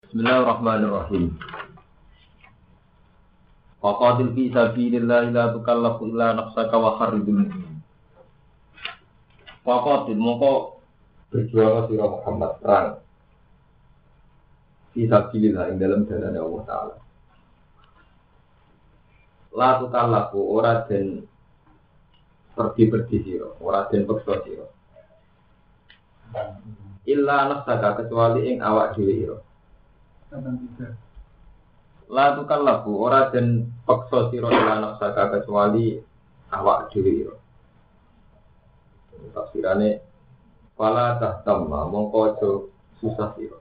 Bismillahirrahmanirrahim. Faqatil fi sabilillah la tukallafu illa nafsaka wa kharridul mu'min. Faqatil mongko berjuang sira Muhammad perang. Fi sabilillah ing dalam jalan Allah taala. La tukallafu ora den pergi sira, ora den peksa sira. Illa nafsaka kecuali ing awak dhewe ira. La tukallafu ora den peksa sira ila nafsaka kecuali awak dhewe ira. Tafsirane fala tahtamma mongko aja susah sira.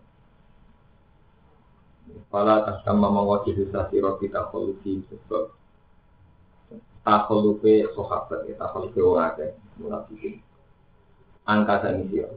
Fala tahtamma mongko aja susah sira kita khulufi sebab takhulufe sahabat ya takhulufe ora akeh munafikin. Angka sak sira.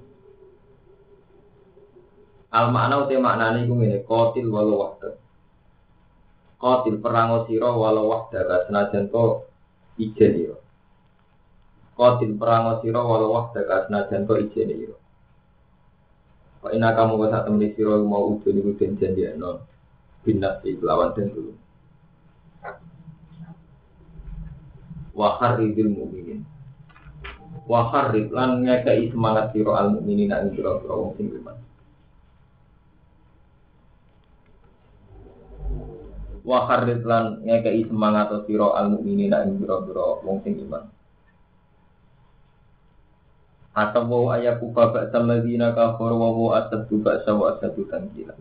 Al makna uti maknane iku ngene, qatil walau wahda. Qatil perang sira walau wahda senajan to ijen ira. Qatil perang sira walau wahda senajan to ijen ira. Wa inna kamu wa satamni sira mau uben iku den janjekno binas lawan den dulu. Wa kharridil mu'minin. Wa kharrid lan ngekei semangat sira al mukminin ing sira wong sing iman. Wa kharrid lan ngekei semangat sira al mukminina ing pira-pira wong sing iman. Atau wa ayaku babak samadzina kafir wa asadu ba'sa wa asadu tankila.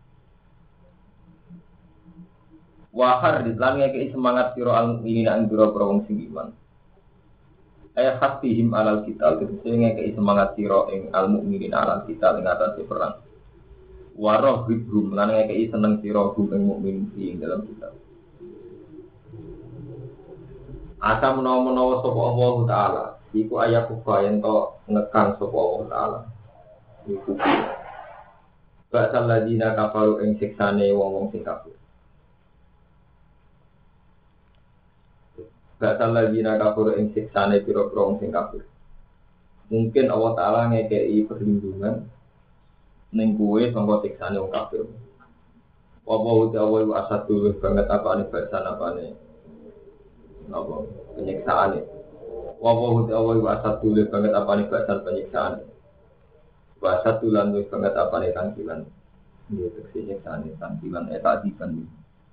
Wa kharrid lan ngekei semangat sira al mukminina ing pira-pira wong sing iman. Aya hasbihim alal qital tegese ngekei semangat sira ing al mukminina alal qital ing atase perang. Waroh hibrum lan ngekei seneng sira hum ing mukmin ing dalam kitab. Asa menawa sapa Allah taala iku ayat kufayen to ngekang sapa Allah taala. Iku Ba'sal ladina kafaru ing siksane wong-wong sing kafir. Ba'sal ladina kafaru ing siksane pira-pira wong sing kafir. Mungkin Allah taala ngekei perlindungan ning kuwe sangka siksane wong kafir. Apa utawa wa asadu banget apane bahasan apane. Napa penyiksaane. Apa utawa wa asadu banget apane bahasan penyiksaane. Wa asadu lan banget apane tangkilan. Dia penyiksaane tangkilan tadikan.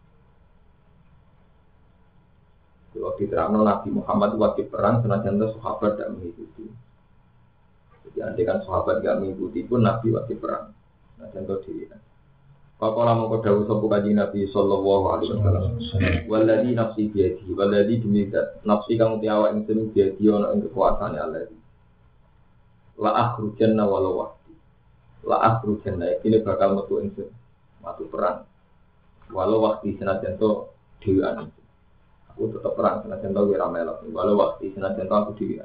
Kalau diterangno Nabi Muhammad wajib perang senajan sahabat tidak mengikuti. Jadi andaikan sahabat tidak mengikuti pun Nabi wajib perang. Nah contoh diri. Pakola mongko dawuh sapa kanjeng Nabi sallallahu alaihi wasallam. Walladzi nafsi biyadihi walladzi demi nafsi kang tiawa ing sing biyadi ana ing kekuasaane Allah. La akhrujanna walau wahdi. La akhrujanna iki bakal metu ing matu perang. Walau wahdi senajan to dhewean. Aku tetep perang senajan to ora melok. Walau wahdi senajan to aku dhewean.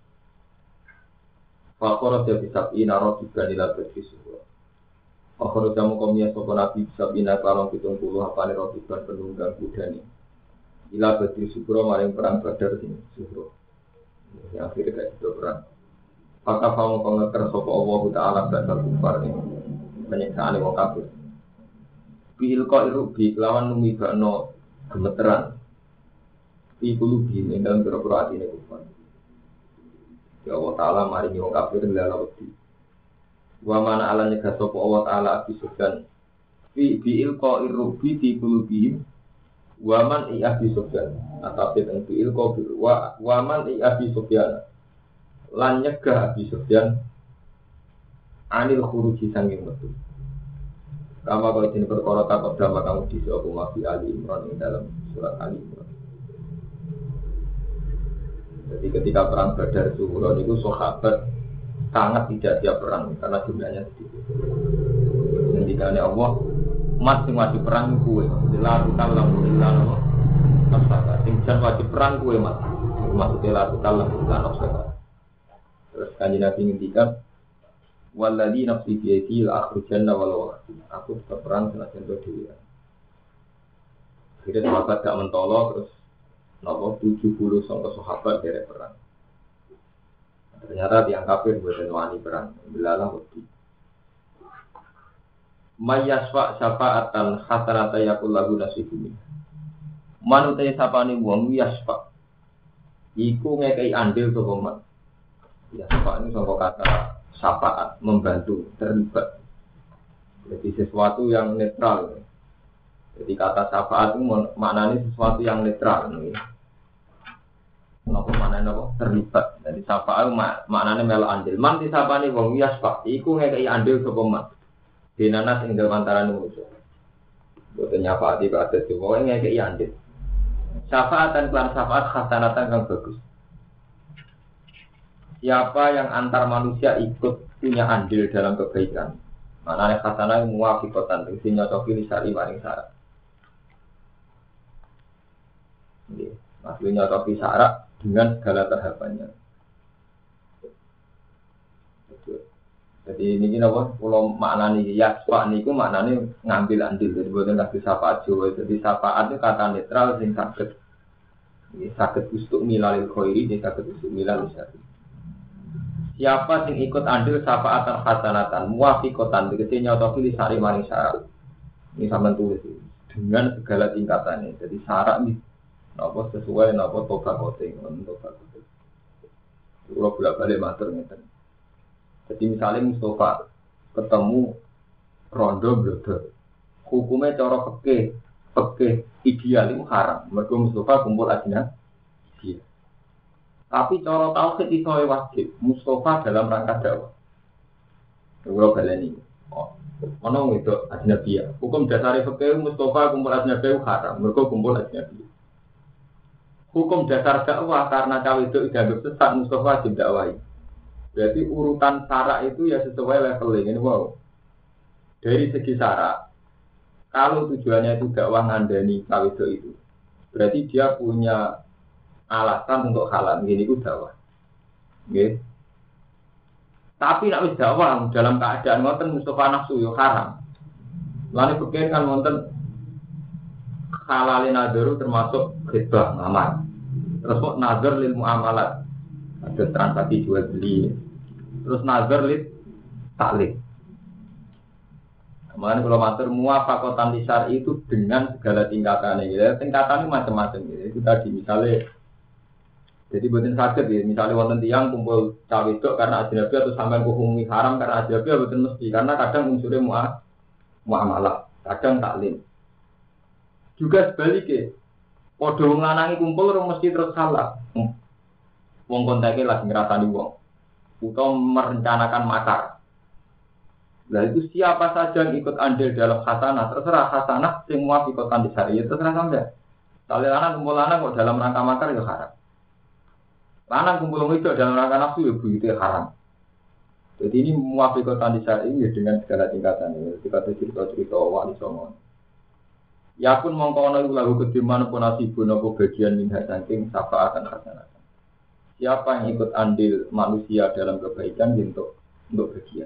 Fakor dia bisa inaro juga nilai berfisik. Fakor jamu komnya sopo nabi bisa ina kalong 70 apa nih rotiban penunggang kuda nih. Nilai berfisik maring perang badar sini suhro. Yang akhirnya kayak itu perang. Maka kamu pengeker sopo Allah Taala dasar kufar nih penyiksaan wong kafir. Bil kau irubi lawan numi bakno gemeteran. Ikulu bin dalam berapa hati nih kufar. Ya Allah Ta'ala maringi wong kafir lala wedi. Wa mana ala nyegah sapa Allah Ta'ala Abi Sufyan. Fi ilqa irrubi fi qulubihim wa man Abi Sufyan. Atape teng fi ilqa wa man Abi Sufyan. Lan nyegah Abi Sufyan anil khuruji sanging metu. Kama kau ini perkara takut drama kamu di sapa mafi Ali Imran ing dalam surat Ali Imran. Jadi ketika perang Badar Zuhro itu sahabat sangat tidak siap perang karena jumlahnya sedikit. Ketika Allah masih wajib perang kue, lalu kalau bilang apa? Tinggal wajib perang kue mas, maksudnya lalu kalau bilang apa? Terus kanjeng Nabi ngendikan, waladhi nafsi biyadi la akhrujanna walau aku tetap perang senajan to dhewe. Akhirnya sahabat gak mentolo terus. Nopo 70 sangka sahabat dari perang. Ternyata tiang kafir buatan wani perang. Belalah wedi. Mayyasfa syafa'atan hasanata yakul lahu nasibun. Manute sapane wong yasfa. Iku ngekei andil sapa man. Yasfa ini saka kata syafaat, membantu, terlibat. Jadi sesuatu yang netral. Jadi kata syafaat itu maknanya sesuatu yang netral. Kenapa maknanya apa? Terlibat. Jadi syafaat maknanya melu andil. Man disapane wong yasfa. Iku ngekei andil sapa man. Dinanas ing dalem antarané manusa. Boten nyafaati kados wong ngekei andil. Syafaatan kelan syafaat hasanatan kang bagus. Siapa yang antar manusia ikut punya andil dalam kebaikan, maknanya hasanah muwafiqatan sing nyocoki li syari maring syarat. Nggih, maksudnya nyocoki syarat dengan segala tahapannya. Jadi ini napa kula maknani yasfa niku maknane ngambil andil jadi boten kasih syafaat Jawa. Jadi syafaat itu kata netral sing saged ustuk milalil khairi, saged ustuk milalil syarri. Siapa sing ikut andil syafaatan hasanatan muwafiqatan tegese nyocoki li syari maring syarat. Ini sampean tulis dengan segala tingkatannya. Jadi syarat iki napa sesuai napa tobakote untuk tobakote. Kula bolak-balik matur ngeten. Jadi misalnya Mustafa ketemu rondo blodor, hukumnya cara fikih ideal itu haram. Mergo Mustafa kumpul ajna. Tapi cara tauhid itu wajib. Mustafa dalam rangka dakwah. Kalau baleni, ono itu ajnabiyah. Hukum dasar fikih Mustafa kumpul ajnabiyah haram. Mergo kumpul ajnabiyah. Hukum dasar dakwah karena cawe itu dianggap sesat Mustafa wajib dakwahi. Berarti urutan syarat itu ya sesuai leveling ini wow. Dari segi syarat, kalau tujuannya itu dakwah ngandani kawido itu, berarti dia punya alasan untuk halal. Gini itu dakwah. Okay. Tapi nak wis dakwah dalam keadaan ngoten Mustafa nafsu yo haram. Lalu pikir kan ngoten halalin nadharu termasuk khidbah ngamar. Terus kok nazar lil muamalat. Ada transaksi jual beli, terus nazar lid taklid. Kemarin kalau matur muwafakotan lisar itu dengan segala tingkatannya. Ya, tingkatannya macam-macam. Ya. Itu tadi misalnya, jadi buatin sakit ya. Misalnya wonten tiang kumpul cawe itu karena ajnabi atau sampai hukum haram karena ajnabi buatin mesti. Karena kadang unsurnya muamalah, kadang taklid. Juga sebaliknya, podo ngelanangi kumpul orang mesti terus salah. Wong kontaknya lagi ngerasani wong, atau merencanakan makar. Nah itu siapa saja yang ikut andil dalam hasanah, terserah hasanah semua ikotan di syariat terserah sampai. Soalnya lanang kumpul lanang kok dalam rangka makar itu haram. Lanang kumpul itu dalam rangka nafsu ya itu haram. Jadi ini muwafiqatan di syariat ya dengan segala tingkatan. Kita cerita wali songo. Ya pun mongko ana lagu kediman pun nasibun apa bagian min saking syafaatan hasanah. Siapa yang ikut andil manusia dalam kebaikan untuk bagian.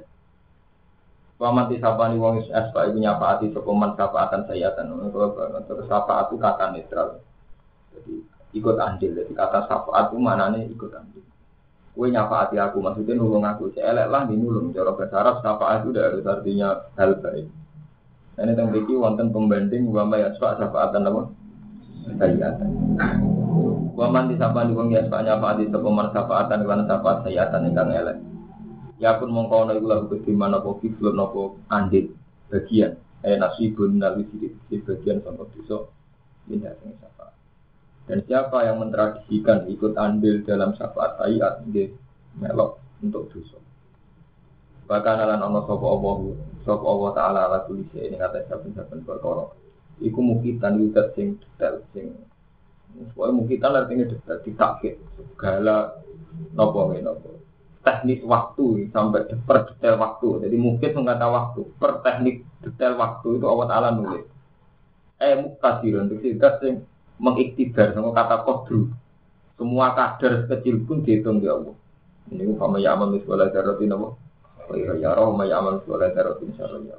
Pamati sapani wong asfa iku nyafaati sapa man syafaatan sayatan. Terus syafaat itu kata netral. Jadi ikut andil. Jadi kata syafaat itu maknane ikut andil. Kowe nyafaati aku maksudnya nulung aku. Elek lah dinulung. Cara bahasa Arab syafaat itu harus artinya hal baik. Ini tentang biki wonten pembanding wa ma yasfa syafaatan apa? Sayatan. Waman disapani wong ya nyafaati sapa man syafaatan lan syafaat sayatan ingkang elek. Ya pun mongko ana iku lagu kediman apa fiklun apa andil bagian nasibun nawi di bagian sangka dosa minta sing syafaat. Dan siapa yang mentradisikan ikut andil dalam syafaat sayat nggih melok untuk dosa. Bahkan lan ana sapa Allah taala ala tulis ini kata saben-saben perkara. Iku mukitan yudat sing detail sing soalnya mungkin kita artinya ditakik segala nopo teknik waktu sampai per detail waktu. Jadi mungkin mengata waktu per teknik detail waktu itu Allah Taala nulis. Muktadir untuk sidat yang mengiktibar sama kata kodru. Semua kadar kecil pun dihitung di Allah. Ini umpama ya amal miswala darotin apa? Ya roh ma ya amal miswala darotin insyaallah.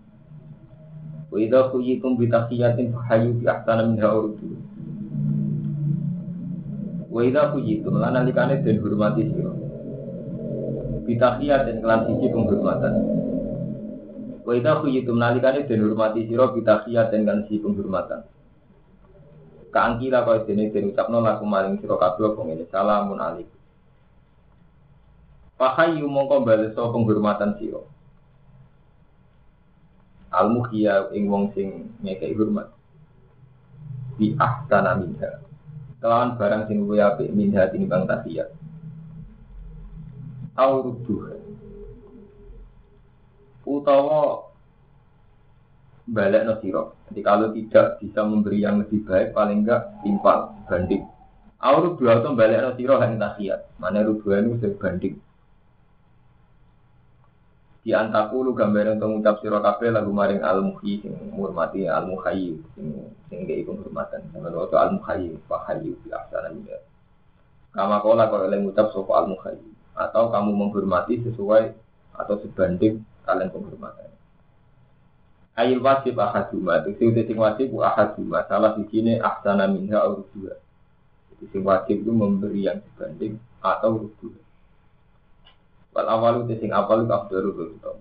Wa idza kuyitum bi tahiyatin fahayu bi ahsana minha urdu. Wa idza kuyitum lan nalikane den hormati sira. Bitahiyat dan kelan siji penghormatan. Wa idza khuyitum nalikane den hormati sira bitahiyat dengan si penghormatan. Kaangkila kaya dene den ucapno laku maring sira kabeh apa ngene salamun alaikum. Fahayyu mongko bales penghormatan sira. Al-mukhya ing wong sing ngekeki hormat. Bi ahsana minha. Kelawan barang sing luwih apik minha tinimbang tahiyat. Auruduh. Utawa balekno sira. Jadi kalau tidak bisa memberi yang lebih baik paling enggak timpal banding. Auruduh atau balekno sira hang tahiyat. Mane ruduhan itu sebanding. Di antaku lu gambaran untuk mengucap sira kabeh lagu maring al-muhyi sing ngurmati al-muhayyi sing ngeki penghormatan sampeyan waktu al-muhayyi fa hayyu bi ahsana minha kama kala kok oleh ngucap sapa al-muhayyi atau kamu menghormati sesuai atau sebanding kalian penghormatan ayil wajib ahaduma itu sing wajib ahaduma salah sijine ahsana minha au dua sing wajib itu memberi yang sebanding atau dua. Wal awalu sing awal itu afdalu gitu.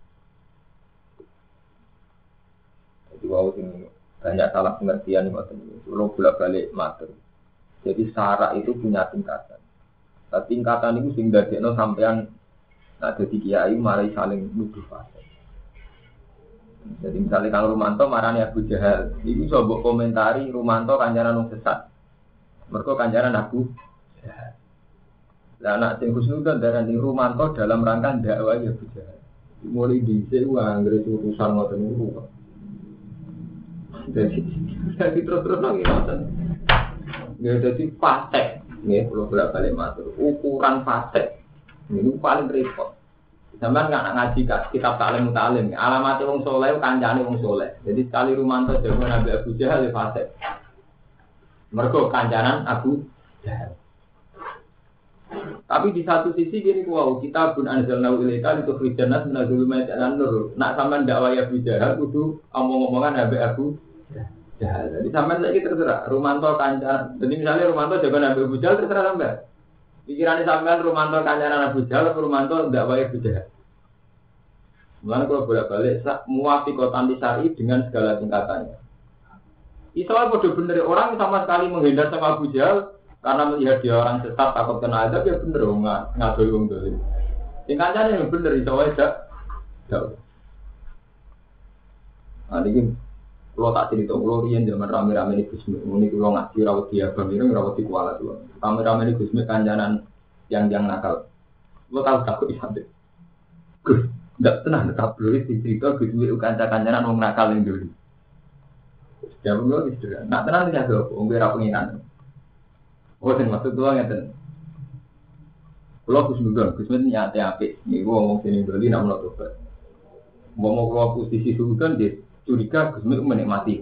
Jadi wau sing banyak salah pengertian ngoten iki. Kulo bolak-balik matur. Jadi syarat itu punya tingkatan. Nah, tingkatan itu sing dadekno sampean dadi kiai mari saling nuduh fasik. Jadi misalnya Kang Rumanto marani Abu Jahal, iki iso mbok komentari Rumanto kancaran wong sesat. Mergo kancaran Abu Jahal. Lah anak sing Husnudzon darani Rumanto dalam rangka dakwah ya bisa. Mulai dhisik wae anggere urusan ngoten niku. Jadi terus lagi ngoten. Ya dadi fasik. Nggih kula bolak-balik matur. Ukuran fasik niku paling repot. Sampeyan nggak ngaji kitab taklim mutalim. Alamat wong saleh kancane wong saleh. Jadi sekali Rumanto jago Nabi Abu Jahal ya fasik. Mergo kancanan Abu Jahal. Tapi di satu sisi gini wow, kita pun anzalna ilaika itu khrijanas minadzulumati an-nur. Nak sampean dakwah Abu Jahal kudu omong-omongan Nabi Abu Jahal. Jadi sampean saiki terserah Rumanto kancan. Jadi misalnya Rumanto jago Nabi Abu Jahal terserah sampean. Pikirane sampean Rumanto kancanan Abu Jahal atau Rumanto dakwah Abu Jahal. Mulane kalau bolak-balik muwafiqatan syar'i dengan segala tingkatannya. Islam bodoh bener orang sama sekali menghindar sama Abu Jahal. Karena melihat dia orang sesat takut kena azab ya bener ngadoi wong dolim. Sing kancane yang bener iso wae dak. Nah iki kula tak cerita kula riyen zaman rame-rame iki Gusmi. Muni kula ngaji rawuh dia bamiro rawuh di kuala kula. Rame-rame iki Gusmi kancanan yang nakal. Kula tahu takut isate. Gus, ndak tenang tabloid dicerita Gusmi kanca-kancanan wong nakal ning dolim. Ya mulu wis sederhana. Nak tenan iki ada wong ora pengiran. Oh, sing maksud kula ngeten. Kula Gusnudon nyate apik. Niku ngomong sini doli nak menawa tobat. Mau kula posisi sultan dia curiga Gusnudon menikmati.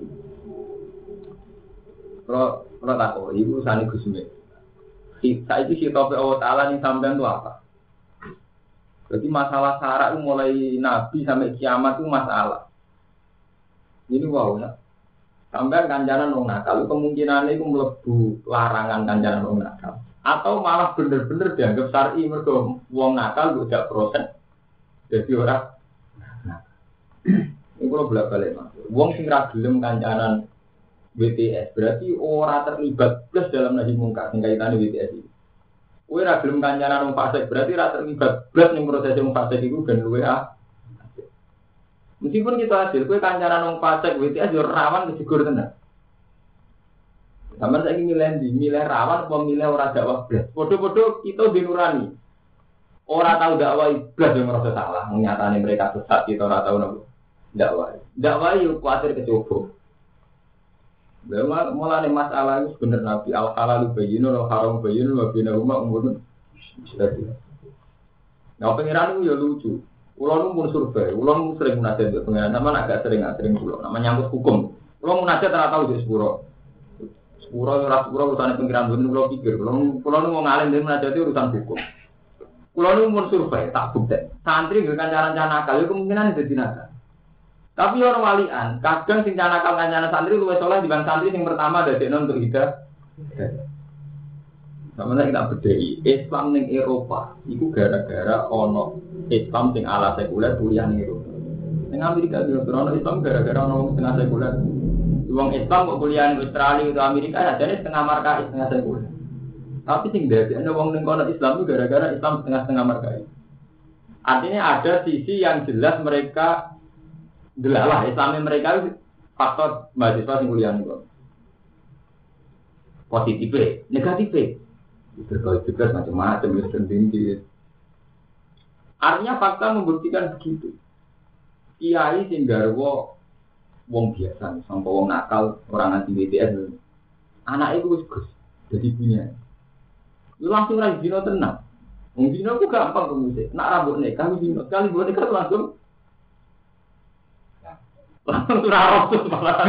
Kula takok, ibu sane Gusnudon. Saiki si topik Allah Taala ning sampean itu apa? Jadi masalah syarat itu mulai Nabi sampai kiamat itu masalah. Ini wow ya. Sampai kancanan wong nakal, kemungkinan itu mlebu larangan kancanan wong nakal. Atau malah bener-bener dianggap syar'i mergo wong nakal tidak proses. Jadi ora nah. Ini kalau bolak-balik Mas. Wong sing ra gelem kancanan WTS berarti ora terlibat plus dalam nahi mungkar sing kaitane WTS iki. Kowe ra gelem kancanan wong fasik berarti ra terlibat plus ning proses wong fasik iku ben luwe Meskipun kita hasil, kue kancaran wong fasik, WTS yo rawan kejegur tenan. Sampeyan saiki milih rawan apa milih ora dakwah blas. Padha-padha kita dinurani. Ora tahu dakwah blas yo merasa salah, nyatane mereka sesat kita ora tahu napa. Dakwah. Dakwah yo kuwatir kecoba. Mulane masalah itu bener Nabi al-halal bayyinun wal haram bayyinun wa bainahuma umurun. Nah, pengiran itu ya lucu. Ulun pun survei, ulun sering munajat ke pengiran, sama agak sering pulau. Namanya nyangkut hukum. Ulun munajat tak tahu di sepuro urusan pengiran dulu. Ulun pikir, ulun mau ngalim dari munajat itu urusan hukum. Ulun pun survei, tak bukti. Santri dengan cara-cara nakal, itu kemungkinan jadi nakal. Tapi orang walian, kadang sing nakal kancanan santri luwes soleh dibanding santri yang pertama dari untuk hidup. Sama kita bedai Islam ning Eropa, itu gara-gara ono Islam sing ala sekuler kuliah ning Eropa. Ning Amerika yo orang Islam gara-gara orang setengah sekuler. Wong Islam kok kuliah di Australia atau Amerika ajane setengah markai, setengah sekuler. Tapi sing dadekne wong ning kono Islam itu gara-gara Islam setengah markai. Artinya ada sisi yang jelas mereka delalah Islamnya mereka itu faktor mahasiswa sing kuliah niku. Positif, negatif. Berkait juga macam-macam ya sendiri. Artinya fakta membuktikan begitu. Kiai sing garwa wong biasa, sampai wong nakal, orang anti BTS. Anak itu wis jadi punya. Lu langsung ra dino tenang. Wong dino ku gampang kemusik. Nak rambut nikah dino, kali buat nikah langsung surah tuh malah.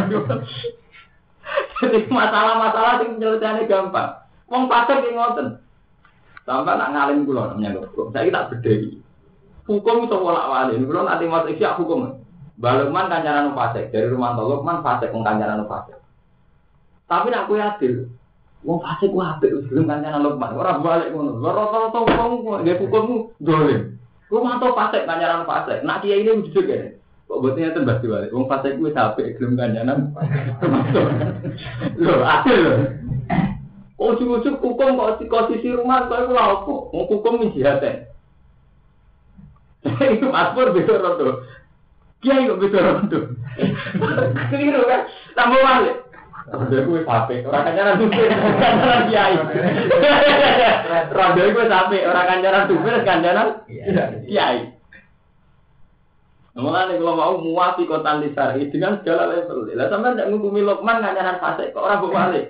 Jadi masalah-masalah yang penyelesaiannya gampang. Wong pasar ki ngoten. Sampai nak ngalim kula namanya kok. Saiki tak bedheki. Hukum itu bolak-balik. Kula nanti masuk isya hukum. Balukman kancaran fasik dari rumah Lukman fasik wong kancaran fasik. Tapi nak kowe adil. Wong fasik ku apik wis gelem kancaran Lukman. Ora balik ngono. Rata-rata wong nggih hukummu dolim. Rumah to fasik kancaran fasik. Nak kiai ini wujud kene. Kok botnya tembak diwali. Wong fasik ku wis apik gelem kancaran. Lho, adil lho. Ujug-ujug hukum kok sisi rumah kok ora apa. Wong hukum jihad. Itu paspor beda rondo. Kiai kok beda rondo. Keliru kan? Tambah balik. Rondo kuwi apik, ora kancaran supir, kancaran kiai. Rondo kuwi apik, ora kancaran supir, kancaran kiai. Mulane kalau mau muafi kota lisari dengan segala level. Lah sampean ndak ngukumi Lukman kancaran fasik kok ora balik.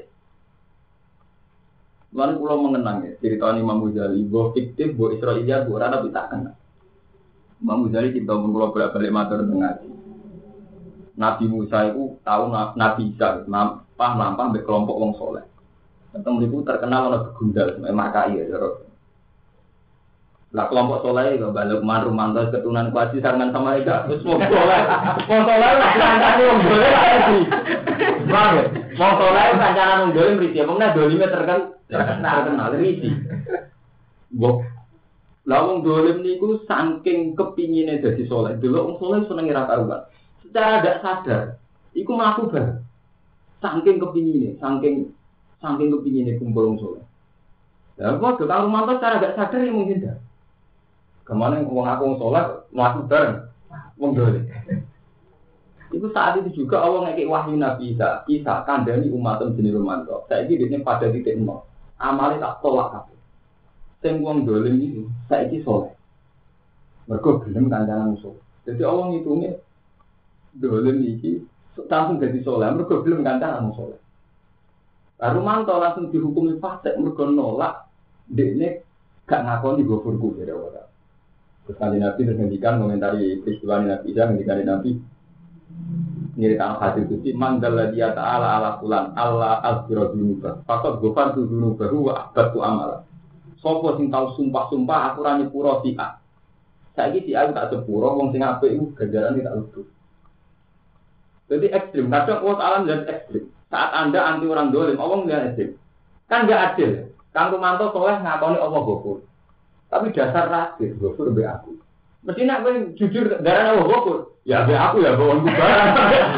Mulane kula mengenang ya, cerita Imam Ghazali, bo fiktif, bo Israiliyat, bo ora tapi tak kenal. Imam Ghazali kita pun kula bolak-balik matur tengah. Nabi Musa itu tahu Nabi Isa nampah mbek kelompok wong saleh. Ketemu itu terkenal ana begundal makai ya. Lah kelompok saleh kok balik Rumanto keturunan Kuasi sarangan sama Ega terus wong saleh. Wong saleh lah kancane wong dolem iki. Bae. Wong saleh kancane wong dolem mriki. Wong dolime terkenal risi. Mbok lah wong dolem niku saking kepingine dadi saleh. Delok wong saleh seneng ora karuan. Secara tidak sadar, iku mlaku bar. Saking kepingine, saking kepingine kumpul wong saleh. Lah kok Kang Rumanto secara tidak sadar ya mungkin dah. Kemana wong aku wong saleh mlaku bareng wong dolem. Iku saat itu juga Allah ngekek wahyu Nabi Isa kandhani umat jenenge Rumanto. Saiki dene pada titik nol. Amale tak tolak kabeh. Sing wong dolem iki saiki saleh. Mergo gelem kancanan musuh. Jadi Allah ngitunge dolem iki langsung dadi saleh mergo gelem kancanan saleh. Rumanto langsung dihukumi fasik mergo nolak dekne gak ngakoni gofurku dari Allah. Terus kanjeng Nabi terus ngendikan komentari peristiwa Nabi Isa ngendikane Nabi nyeritaan hadis itu manggal dia ta'ala ala fulan Allah azbira dunuba fakot gofar dunuba wa abatu amala sopo sing tau sumpah-sumpah aku ra nyepuro si A saiki si A tak sepuro wong sing apik iku ganjaran tak luput. Jadi ekstrim kadang Allah Ta'ala dan ekstrim saat anda anti orang dolim Allah nggak ekstrim kan nggak adil. Kang Rumanto soleh ngakoni Allah gofur tapi dasar rasis gofur be aku mesti nak jujur darah Allah gofur ya be aku ya bawang barang.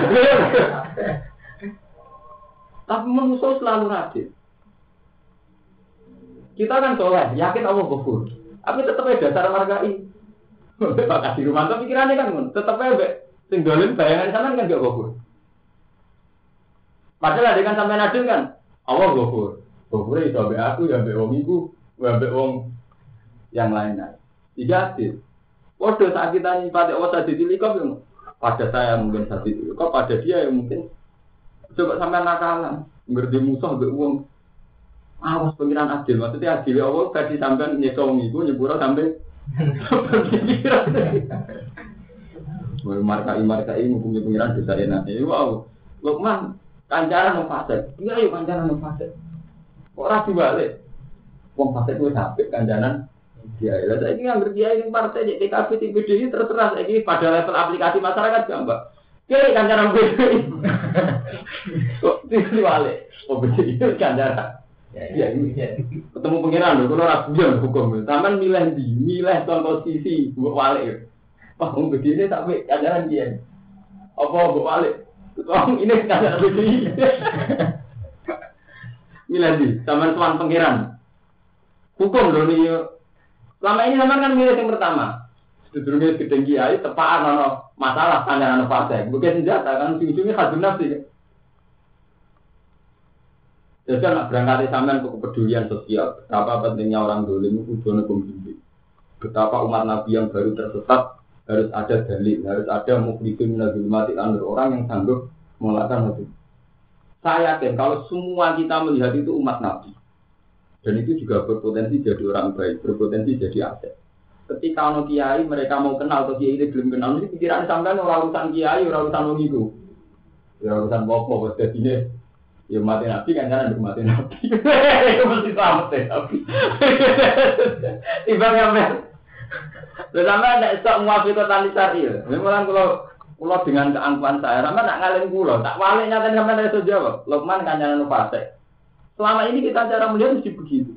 Tapi manusia selalu rasis. Kita kan soleh, yakin Allah gofur. Tapi tetap ada dasar margai. Pak Kasih Rumanto pikirannya kan, tetap aja sing dolim bayangan sampean kan gak gofur. Padahal ada kan sampean adil kan, Allah gofur. Gofur itu be aku ya be wong iku, ya be wong yang lain-lain. Tiga adil. Waduh saat kita nyipati Allah saja dilikop, pada saya mungkin saja dilikop, pada dia yang mungkin coba sampai nakalan, ngerti musuh be wong. Awas pengiran adil, maksudnya adil Allah tadi sampai nyekong itu nyepura sampai markai hukumnya pengiran dosa enak. Wow, Lukman kancaran wong fasik. Iya yuk kancaran wong fasik. Kok ora dibalik? Wong fasik kuwi sampai kancaran dia. Lah saiki ngambil dia ning partai DKP TPD terserah saiki pada level aplikasi masyarakat gampang. Kiri kancaran BDI. Kok dibalik? Oh BDI kancaran. Ya ini ketemu pengiran lho, kalau ragu hukum. Taman milih contoh sisi buat walik. Wah, begini tapi ajaran dia. Apa mbok balik? Ini ajaran begini. Miladi, zaman tuan pangeran. Hukum lho nih. Selama ini zaman kan milih yang pertama. Sedurunge gedeng kiai tepaan ana masalah kancanan fase. Bukan senjata kan ujung-ujungnya hadun nafsi. Jadi anak berangkat sampean ke kepedulian sosial. Betapa pentingnya orang dolim itu kudu pembimbing. Betapa umat Nabi yang baru tersesat harus ada dalil, harus ada mukhlifin minadzul mati orang yang sanggup melakukan itu. Saya yakin kalau semua kita melihat itu umat Nabi. Dan itu juga berpotensi jadi orang baik, berpotensi jadi aset. Ketika ono kiai mereka mau kenal atau kiai ini belum kenal, ini pikiran sampean ora urusan kiai, ora urusan wong iku. Ya urusan apa wis dadine ya mati Nabi kan jangan mati Nabi. Itu mesti selamat deh Nabi. Tiba sampean. Sampean nek sok muafiqatan syar'i. Memang kalau dengan keangkuhan saya, sama nak ngalahin pulau, tak balik nyatain sampai dari jawab. Lokman kancanan fase. Selama ini kita cara melihat mesti begitu.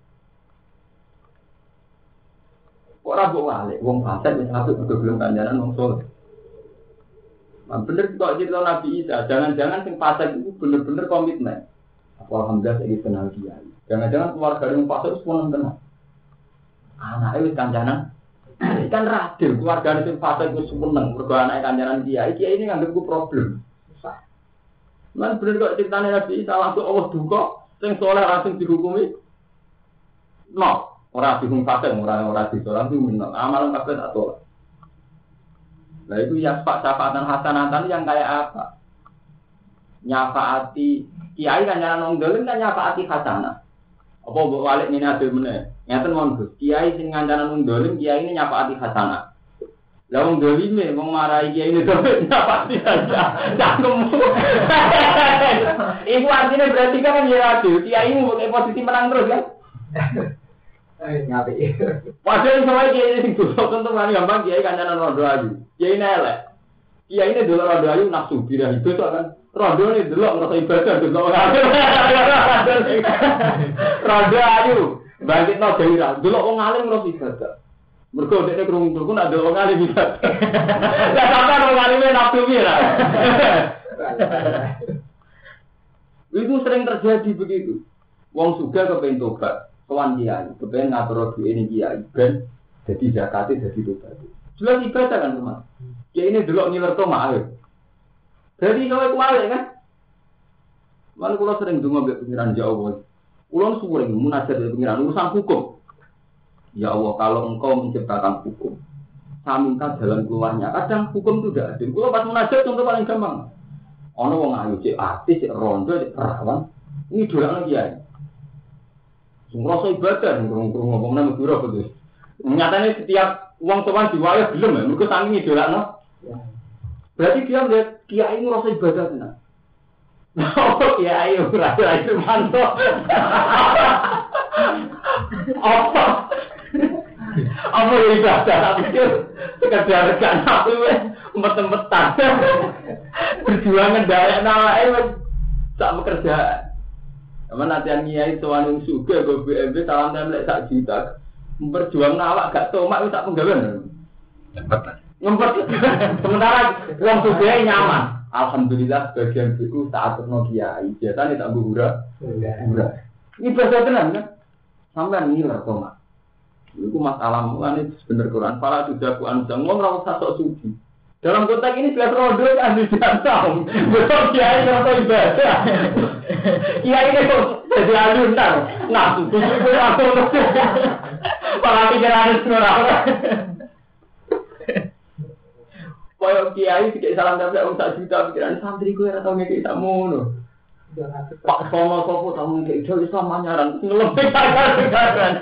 Kok rabu balik, wong fase bisa masuk ke belum kancanan wong soleh. Nah, bener kok cerita Nabi Isa, jangan-jangan sing fase itu bener-bener komitmen. Alhamdulillah saya kenal dia. Jangan-jangan keluarga yang fase itu semua kenal. Anaknya wis kancanan. Kan radil keluarga itu fase itu seneng mergo anake kancanan kiai ini nganggep ku problem. Susah. Man bener kok ceritane Nabi Isa langsung Allah duka sing saleh langsung dihukumi. No, ora dihukum fase ora disolat itu amal kabeh tak tolak. Nah itu ya Pak syafaatan hasanatan yang kayak apa? Nyafaati kiai kancanan wong dolim kan nyafaati hasanah. Apa mbok walik minadul meneh? Ngaten mon Gus, kiai sing ngancanan wong dolim, kiai ini nyapaati hasanah. Lah wong dolime wong marahi kiai ini dolim nyapaati hasanah. Cangkem. Iku artinya berarti kan ya adil, kiai mu pakai posisi menang terus kan? Ngapi. Padahal sama kiai sing dosa tentu kan gampang kiai kancanan rondo ayu. Kiai ini elek. Kiai ini dulu rondo ayu nafsu birahi dosa kan. Rondo ini dulu ngerasa ibadah dosa orang. Rondo ayu. Bangkit no dewi dulu orang alim ngerasa ibadah. Mereka dekne krungu ku nak delok alim ibadah. Lah sampean orang alimnya nafsu pira. Itu sering terjadi begitu. Wong sugih kepengin tobat, sowan kiai, kepengin ngatur duwe ini kiai ben dadi zakate dadi tobat. Jelas ibadah kan, Mas. Kiai ini delok ngilerto mak. Jadi kowe kuwale kan? Lan kula sering donga mbek pengiran ya Allah. Kula suwung munajat mbek pengiran urusan hukum. Ya Allah, kalau Engkau menciptakan hukum, saya minta jalan keluarnya. Kadang hukum itu tidak adil. Kula pas munajat contoh paling gampang. Ono wong ayu cek artis, cek rondo, cek perawan. Ini dolakno kiai. Ngrasa ibadah ngurung-ngurung ngomong nang Madura betul. Nyatane setiap wong tuan diwayah belum ya, mergo saking idolakno. Berarti dia melihat kiai ngrasa ibadah tenan. Oh kiai ora itu mantap. Apa ibadah tapi sekedar gak nafsu empet-empetan. Berjuang ngendhalekno awake wis sak pekerjaan. Aman latihan kiai sowan sugih go BMB salam templek 1 juta. Memperjuang awak gak tomak wis sak penggawean. Ngempet. Sementara wong sugih nyaman. Alhamdulillah bagian itu tak aturno kiai. Biasane tak buhura. Ini bahasa tenan kan? Sampeyan ngiler tomak. Iku masalah mulane bener Quran. Fala tujaku anjang wong ora usah sok suci. Dalam konteks ini jelas rodo kan tidak tahu. Betul kiai atau ibadah. Kiai ini kok jadi aluntar. Nah, itu aku. Para pikiran semua. Koyo kiai sik salam templek wong 1 juta pikiran santri kowe ora tau ngeki tak ngono. Pak Sono sopo tau ngeki iso Islam nyaran ngelebih kan.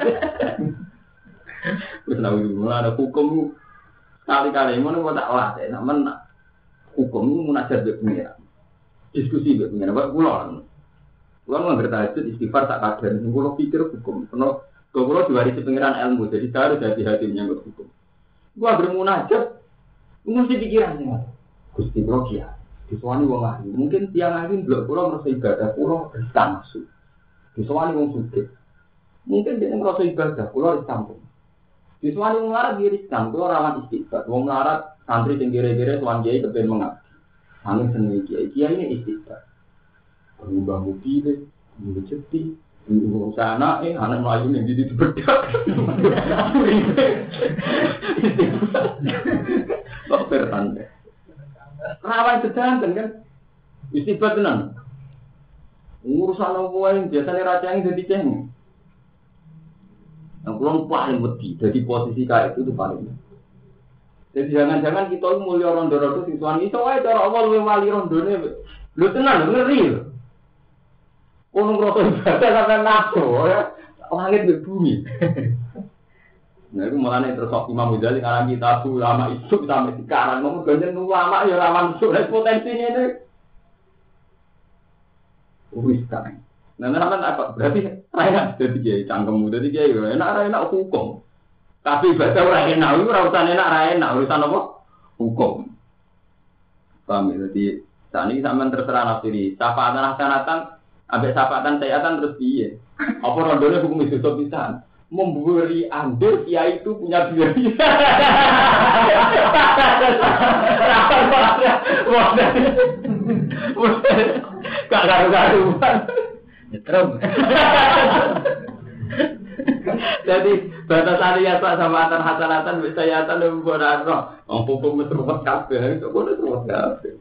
Wis nawi mulane hukum kali-kali ngono kok tak latih, namun hukum munajat mbek pengira. Diskusi mbek pengira, Pak kula. Kula ngerti tahajud istighfar tak kadar, kula pikir hukum. Kula diwarisi pengiran ilmu, jadi saya harus hati-hati menyangkut hukum. Gua bermunajat mesti pikiran nih. Gusti kula kiai, disowani wong ahli. Mungkin tiang ahli blok kula ngrasa ibadah, kula riskan masuk. Disowani wong sugih. Mungkin dia ngrasa ibadah, kula riskan. Siswani melarat diriskan, itu rawan istighfar. Wong melarat santri sing kira-kira tuan kiai kepen mengabdi. Angin seneng kiai ini istighfar. Berubah mobil, berubah ceti, berubah anak melayu yang jadi dibedak. Kok bertanda? Rawan sedanten kan? Istighfar tenan. Urusan apa yang biasanya raja yang jadi ceng. Yang pulang paling wedi, jadi posisi kayak itu paling. Jadi jangan-jangan kita mulia rondo-rondo siswan itu aja cara Allah lebih wali rondone. Lu tenang, ngeri. Kono ngrasa ibadah sampai nafsu ya. Langit ke bumi. Nah itu mulane terus Imam Ghazali ngarang kitab ulama isu sampai sekarang ngomong ganjen ulama ya lawan isu potensinya ini. Wis kan. Nah, apa? Berarti enak jadi kiai, cangkemmu jadi kiai, enak hukum. Tapi ibadah ora enak, ora urusan enak, urusan apa? Hukum. Paham ya? Jadi, saat ini sampean terserah nafsiri. Syafaatan hasanatan, ambek syafaatan sayatan terus piye? Apa rondone hukum itu pisan? Memberi andil kiai itu punya biaya. Gak garu-garuan. Nyetrum. Jadi batasan ya Pak sama antar hasanatan bisa yatan dan bodoh. Wong hukum metrumot kabeh itu bodoh metrumot kabeh.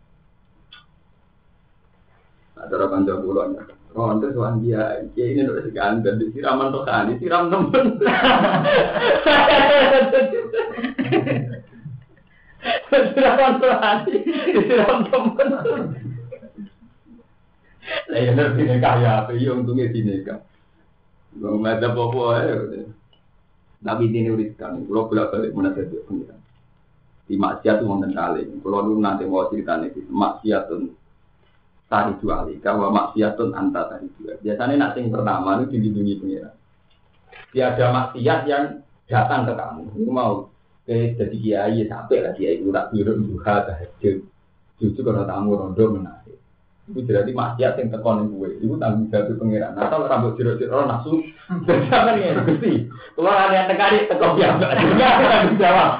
Ada orang kanca kula nya. Oh, antes wan dia ini udah seganten disiraman to kan, disiram temen. Disiram temen. Lah ya ngerti nek kaya apa yo untunge dineka. Wong ada apa ae. Nabi dene uriskan, kula bolak-balik menasih pengiran. Di maksiat wonten kalih. Kula nu nate mau critane iki maksiatun tari dua kali, kalau maksiatun anta tari dua. Biasanya nak sing pertama itu dilindungi pengiran. Tiada maksiat yang datang ke kamu. Itu mau jadi kiai sampai lah kiai itu tak biru duha tahajud. Justru kalau tamu rondo menasih. Itu berarti maksiat yang tekonin gue. Itu tanggung jawab pengiran. Atau rambut jiro-jiro nafsu. Dan jangan ya, Gusti. Kalau ada yang tekani tekok biasa. Enggak tanggung jawab.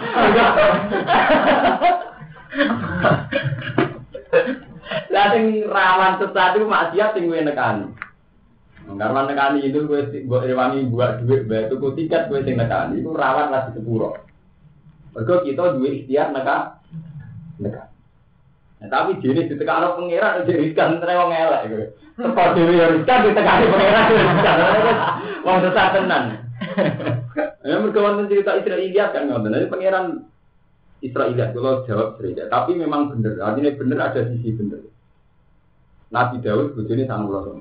Lah sing rawan sesuatu maksiat sing kowe nekani. Karena nekani itu kowe mbok rewangi buat duit bae tuku tiket kowe sing nekani iku rawan lagi sepuro. Mergo kita duwe ikhtiar nekan. Nah, tapi jenis ditekano pangeran riskan tre wong elek kowe. Teko dhewe ya riskan ditekani pangeran riskan. Wong sesat tenan. Ya mergo wonten cerita Israiliyat kan ngoten. Jadi pangeran Israiliyat kalau jawab cerita, tapi memang benar. Artinya benar ada sisi benar. Nabi Daud bojone 90.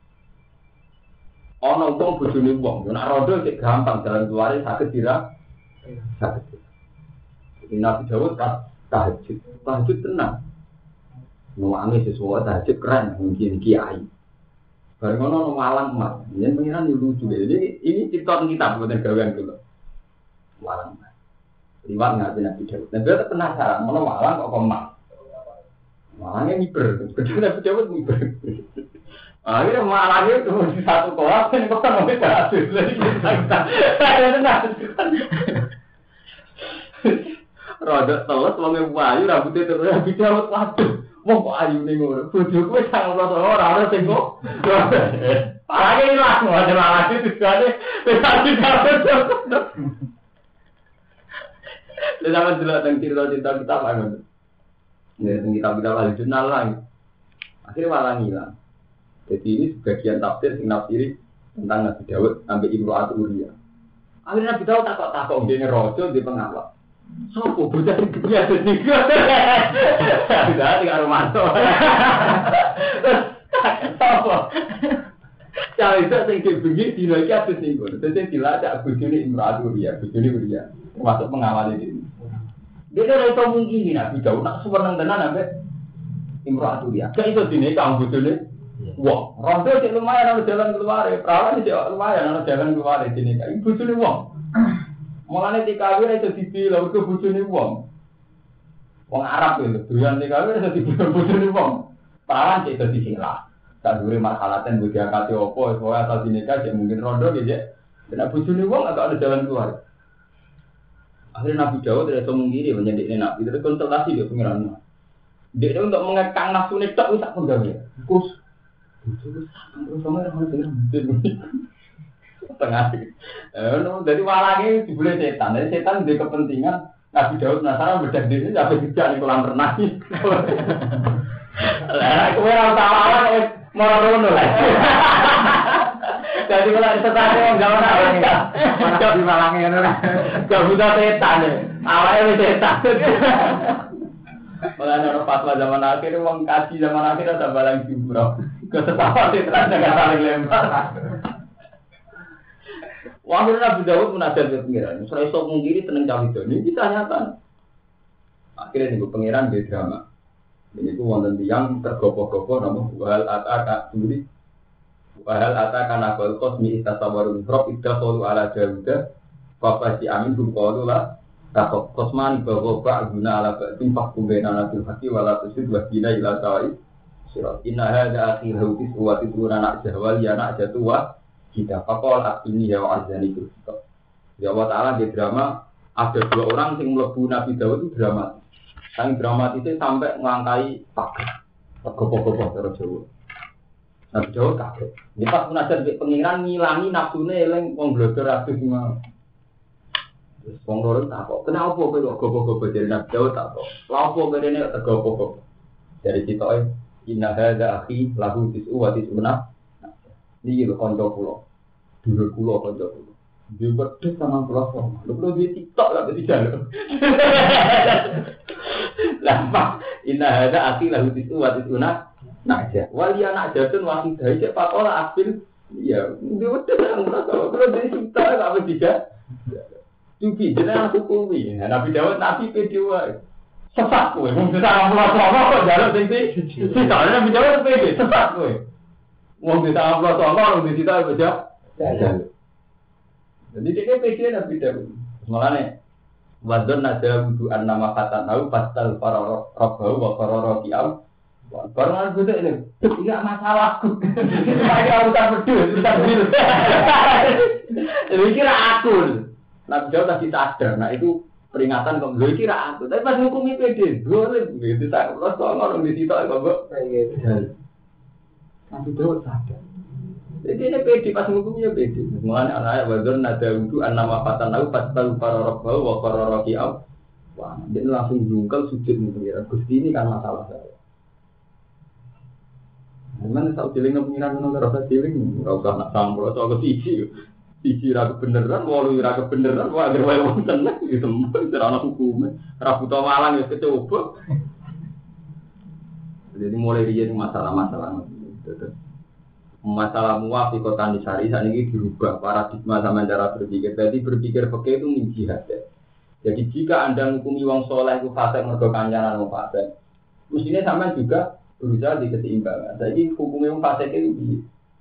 Ana wong bojone wong, nek rodo sik gampang jalan keluare saged dira. Saged. Jadi Nabi Daud pas tahajud tenang. Nuwangi sesuatu tahajud keren mungkin kiai. Bareng ono malang emas. Yen pengiran lucu. Jadi ini cerita kitab bukan gawean kula. Malang. Liwat ngaji Nabi Daud. Nabi Daud penasaran, mana malang kok emas? Malangnya miber, kedua Nabi Daud miber. Akhirnya malangnya itu di satu kolam, ini kok kan mau berhasil. Saya tenang. Rodok teles, wongnya wayu, rambutnya terus Nabi Daud. Waduh, mau kok ayu nih ngurus. Bujuk gue sangat orang tengok. Malangnya hilang, ada malangnya tujuannya. Nabi Daud. Lalu sama dulu tentang cerita-cerita kita apa kan? Ya, tentang kita wali jurnal lagi. Akhirnya malah hilang. Jadi ini sebagian tafsir sing nafsiri tentang Nabi Daud sampai Imro'atu Uriah. Akhirnya Nabi Daud takut dia ngerojo di pengawal. Sopo bocah iki ya dadi. Sudah tinggal romanto. Sopo? Cara itu sing dibengi dina iki abis niku. Dadi dilacak bojone Imro'atu Uriah, bojone Uriah. Termasuk pengawal ini. Dia ora iso mungkin Nabi Daud nak suweneng tenan ambek Imro'atu Uriah. Gak iso dinikah bojone. Wong, rondo sik lumayan ana jalan keluar, perawan sik lumayan ana jalan keluar dinikah. Bojone wong. Mulane dikawin iso dibilang ke bojone wong. Wong Arab itu doyan dikawin iso dibilang bojone wong. Perawan sik iso disilah. Sak dure marhalatan budi akate opo, pokoke asal dinikah sik mungkin rondo nggih. Nek bojone wong agak ada jalan keluar. Akhirnya Nabi Dawud tidak semung kiri menjadi Nabi itu konsultasi dia pengiran. Dia untuk mengekang nafsu ini tak usah penggawe. Kus, terus sama orang dengar tengah. Dari walangnya dibeli setan. Dari setan dia kepentingan Nabi Dawud penasaran bedah diri sampai kerja di kolam renang. Lah, aku ora tahu mau ngono lah. Jadi kalau setan yang enggak mana di walangnya ngono. Gak buta setan. Awalnya setan. Malah orang fatwa zaman akhir, uang kaji zaman akhir ada balang jumroh. Kesetapan setan jangan saling lempar. Waktu Nabi Dawud munajat ke pengiran, saya sok mungkiri tenang cawe ini bisa nyata. Akhirnya nih pengiran di drama. Ini tuh wonten tiang tergopoh-gopoh nama wahal ataka sendiri. Wahal ataka nabal kosmi istasawarun rob idda qalu ala Dawuda fa si amin kum qalu la takok kosman bahwa guna ala ba'din fahkum baina nabil haqi wala tusid wa dina ila sawi sirat. Inna hadza akhiru tiswati anak jahwal ya anak jatuwa kita pakol ini ya wajani itu. Ya Allah Taala di drama ada dua orang yang melebu Nabi Dawud itu dramatis. Yang dramatis itu sampai melangkai pagar. Gopoh-gopoh terus Jawa. Nabi Dawud kaget. Ini pas munajat di pengiran ngilangi nafsune eling wong glodor adus semua. Terus wong loro takok, "Kenapa kowe kok gopoh-gopoh dari Nabi Dawud takok? Lha opo kene kok gopoh-gopoh?" Dari citoke, "Inna hadza akhi lahu tis'u wa tis'una." Niki lho kanca kula. Dulur kula kanca kula. Dia wedhus sama pulau. Lho kula dia TikTok lah dadi jalu. Lampak inna hadza akhi lahu tis'u wa tis'una. Naja. Wali anak jatun wahidah cek pakola akhir. Iya, dia wedhus sama pulau. Kula dia TikTok apa tidak? Cuci jenengan hukumi. Nabi Dawud nabi pede wae. Sesat kowe. Wong disarang pulau kok jalu sing iki. Sikane Nabi Dawud pede sesat kowe. Wong disarang pulau wong disita baca. Jadi dia pede Nabi Dawud. Makane wadon nada wudu'an nama katan au pasal para rabbahu wa qarara ti'am. Baru gue ini enggak masalahku. Saya urusan pedus, urusan bil. Jadi kira aku. Nabi Dawud tadi sadar. Nah itu peringatan kok gue kira aku. Tapi pas hukumi pede, boleh gitu tak. Terus orang di situ kok Nabi Dawud sadar. Jadi ini pede pas hukumnya pede. Mulanya anak wadon nada wudu'an nama katan au pasal para rabbahu wa qarara ti'am. Wah, dia langsung jungkel sujud mengira Gusti ini kan masalah saya. Mana tahu ciling pengiran ngono ora usah ciling, ora usah nak sampur atau ke siji. Siji ra kebenaran, walu ra kebenaran, wae agar wae wonten gitu. Ora ana hukume. Ra buta malang ya kecoba. Jadi mulai riyen masalah-masalah masalah muwafiqatan disari saniki dirubah paradigma sama cara berpikir. Jadi berpikir fikih itu min jihad. Jadi jika Anda menghukumi wong saleh itu fasik mergo kancanan wong fasik, mestinya sampean juga berusaha di keseimbangan. Jadi hukumnya yang fasik itu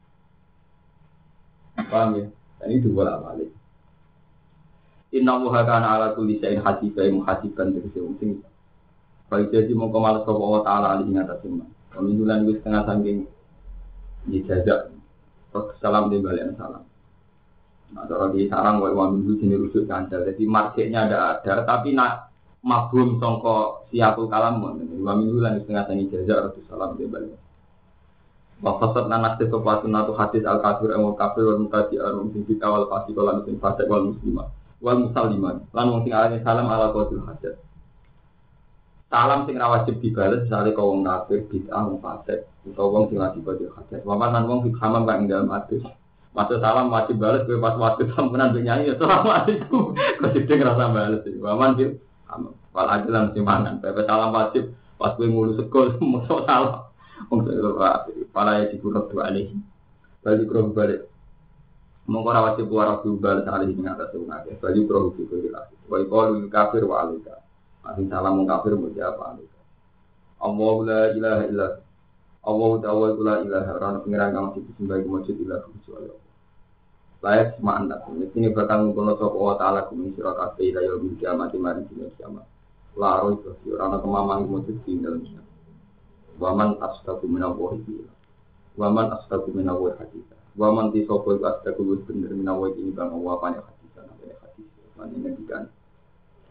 paham ya? Dan itu bolak balik. Inna Allaha kana ala kulli syai'in hasiban muhasiban tegese wong sing baik jadi mongko males sapa wa taala ali ing atas iman. Peminggulan wis setengah saking dijajak. Salam di balik salam. Nah, kalau di sarang wa minggu sini rusuk kandel. Jadi marketnya ada tapi nak mabum songko siapul kalamun. Dua minggu lan setengah tani jazak Rasulullah di balik. Wafasat nanas kesopasun atau hadis al kafir emol kafir wal mutasi arum singkit awal pasti kalau musim fasik wal muslimah wal musaliman. Lan wong sing alane salam ala qaul hajat. Salam sing ra wajib dibales misale kok wong kafir bid'ah wong fasik utawa wong sing wajib qaul hajat. Waman lan wong sing hamam kang dalem hadis. Maksud salam wajib bales kowe pas waktu sampenan nyanyi assalamualaikum. Kok sithik rasa bales. Waman bil wal ajalan simpanan, pepe salam wajib pas gue ngurus sekolah masuk salam, untuk para yang dikurang dua alih, balik kurang balik, mengkora wajib warap dua alih dengan atas sungai, balik kurang juga jelas, balik kalau kafir walika, masih salam mengkafir mulia apa alika, Allah la ilaha illah, Allah la ilaha orang pengiran kamu situ sebagai masjid ilah kecuali Allah. Layak semua anda, ini bakal mengkono sop Allah Taala kumini surakat ilayah bil kiamat mari dunia kiamat. Laro itu orang kemamang mujud di dalamnya. Waman astagu minawahi bila. Waman astagu minawahi hadisa. Waman tisopo astagu bener minawahi ini bang awapanya hadisa namanya hadis. Mana ngendikan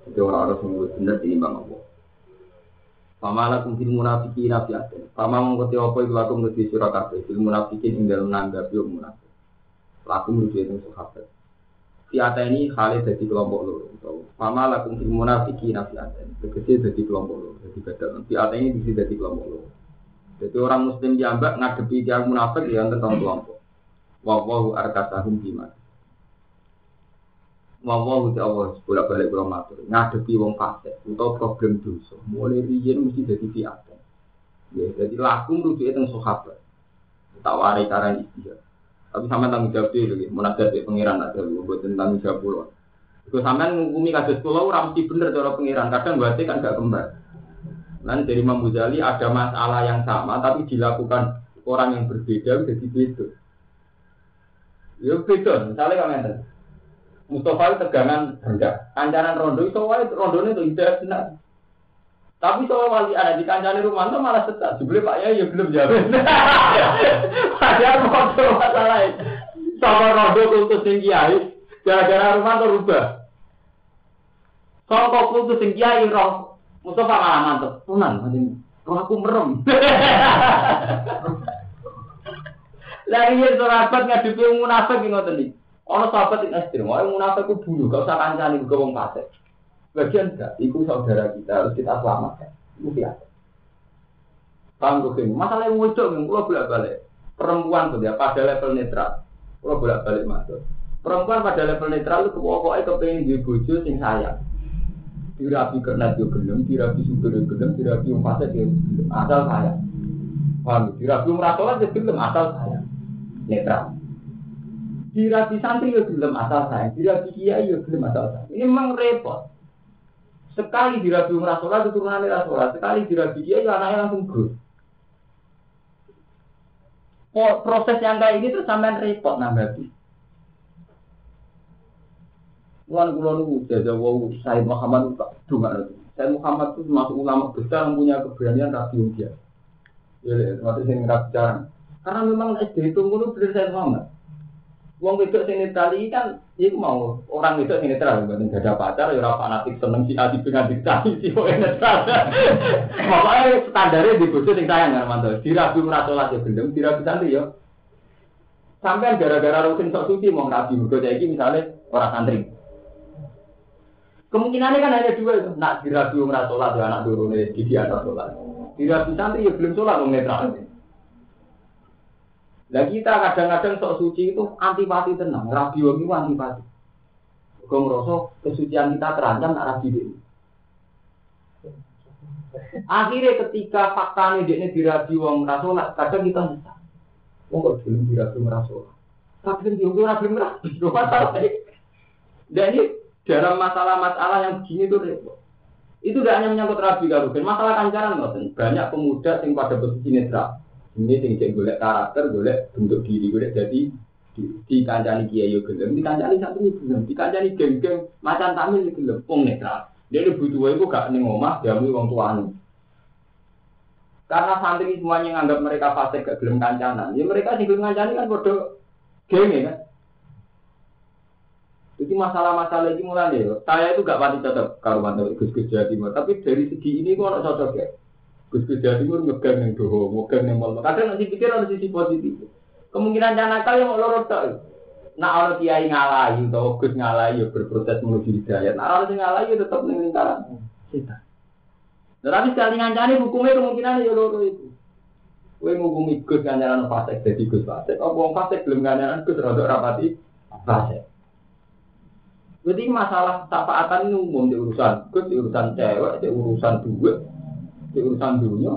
Jadi orang harus menurut benar diimbang Allah. Pamalah kumfil munafikin nafiatin. Pama mengkoti apa itu laku menuju surah kabeh. Fil munafikin ing dalam nanggapi orang munafik. Laku menuju itu sahabat. Fiata ini Khalid jadi kelompok loro. Pamalah kumfil munafikin nafiatin. Tegese jadi kelompok loro. Jadi beda. Fiata ini bisa jadi kelompok loro. Jadi orang Muslim jambak ngadepi yang munafik ya tentang kelompok. Wallahu arkasahum bima. Wallahu ta'ala bolak-balik kula matur. Ngadepi wong fasik utawa problem dosa. Mulai riyen mesti dadi fiatan. Ya, jadi laku rujuke teng sahabat. Tak warai karan istilah. Tapi sampean tanggung jawab dhewe munajat be pangeran ada mboten tanggung jawab kula. Iku sampean ngukumi kados kula ora mesti bener cara pangeran. Kadang berarti kan gak kembar. Lan dari Imam Ghazali ada masalah yang sama tapi dilakukan orang yang berbeda jadi beda. Ya beda, misalnya kok ngeten. Mustafa itu tegangan rendah. Kancanan rondo itu wae rondone itu indah benar. Tapi soal wali ada di kancane Rumanto malah setak. Jebule Pak Yai ya belum jawab. Padahal foto masalah. Soal rondo kultus sing kiai gara-gara Rumanto rubah. Soal kultus sing kiai roh Mustafa malah mantep. Tunan pancen roh aku merem. Lagi yen sahabat ngadepi munafik ngoten iki. Ono sahabat itu ekstrem, orang munafik itu bunuh, gak usah kancani ke wong fasik. Bagian enggak, itu saudara kita harus kita selamatkan. Itu biasa. Paham gue ini, masalah yang muncul, kalau bolak-balik perempuan tuh ya pada level netral, kalau bolak-balik masuk. Perempuan pada level netral itu pokoknya kepengen di bojo sing sayang. Dirapi kernet yo gelem, dirapi subur yo gelem, dirapi wong fasik yo asal sayang. Paham? Dirapi merasolat yo gelem asal sayang. Netral. Dirapi santri ya belum asal saya, dirapi kiai ya belum asal saya. Ini memang repot. Sekali dirapi umrah sholat itu turunannya rasolat, sekali dirapi kiai ya anaknya langsung gur. Proses yang kayak ini terus sampean repot nambah. Kulon itu jaga wow Said Muhammad itu dunga. Said Muhammad itu termasuk ulama besar yang punya keberanian rapi dia. Ya, termasuk yang rapi jarang. Karena memang SD itu mulu bener Said Muhammad. Wong wedok sing netral iki kan iku mau orang wedok sing netral mboten ada pacar ya ora fanatik seneng si ati dengan diktai si kok netral. Pokoke standare di bojo sing sayang karo mantu. Dirabi ora salat ya gendeng, dirabi santri ya. Sampeyan gara-gara rutin sok suci mau rabi mergo saiki misale ora santri. Kemungkinannya kan hanya dua itu. Nak dirabi ora salat ya anak durune iki anak salat. Dirabi santri ya belum salat wong netral. Lah kita kadang-kadang sok suci itu antipati tenang, rabi wong itu antipati. Kok ngerasa kesucian kita terancam nak rabi ini. Akhirnya ketika faktanya dia ini dirabi wong rasolat, kadang kita nyesal. Wong kok belum dirabi wong rasolat. Tapi dia ora belum rabi, masalah. Dan ini dalam masalah-masalah yang begini itu repot. Itu tidak hanya menyangkut rabi kalau masalah kancaran ngoten. Banyak pemuda yang pada posisi netral. Ini tinggi golek karakter, golek bentuk diri, golek jadi di kancani kiai yo gelem, di kancani santri gelem, di kancani geng-geng macan tamil gelem, wong netral. Dia butuh iku gak ning omah, diambil wong tuane. Karena santri semuanya nganggap mereka fasik gak gelem kancanan. Ya mereka sing gelem kancani kan padha geng kan. Jadi masalah-masalah ini mulai ya. Saya itu gak pati cocok karo mantu Gus Jawa Timur, tapi dari segi ini kok ono cocok ya. Gus Jawa Timur ngegang yang doho, ngegang yang mal. Kadang nanti pikir ada sisi positif. Kemungkinan nakal yang mau lorot tak. Nak orang kiai ngalahi atau Gus ngalahi ya berproses menuju hidayat. Nak orang ngalahi ya tetap ning lingkaran setan. Tapi sekali ngancani hukumnya kemungkinan ya loro itu. Kowe ngukumi Gus kancanan fasik dadi Gus fasik. Apa wong fasik belum kancanan Gus rada rapati fasik. Jadi masalah syafaatan ini umum di urusan Gus, di urusan cewek, di urusan duit. Di urusan dunia.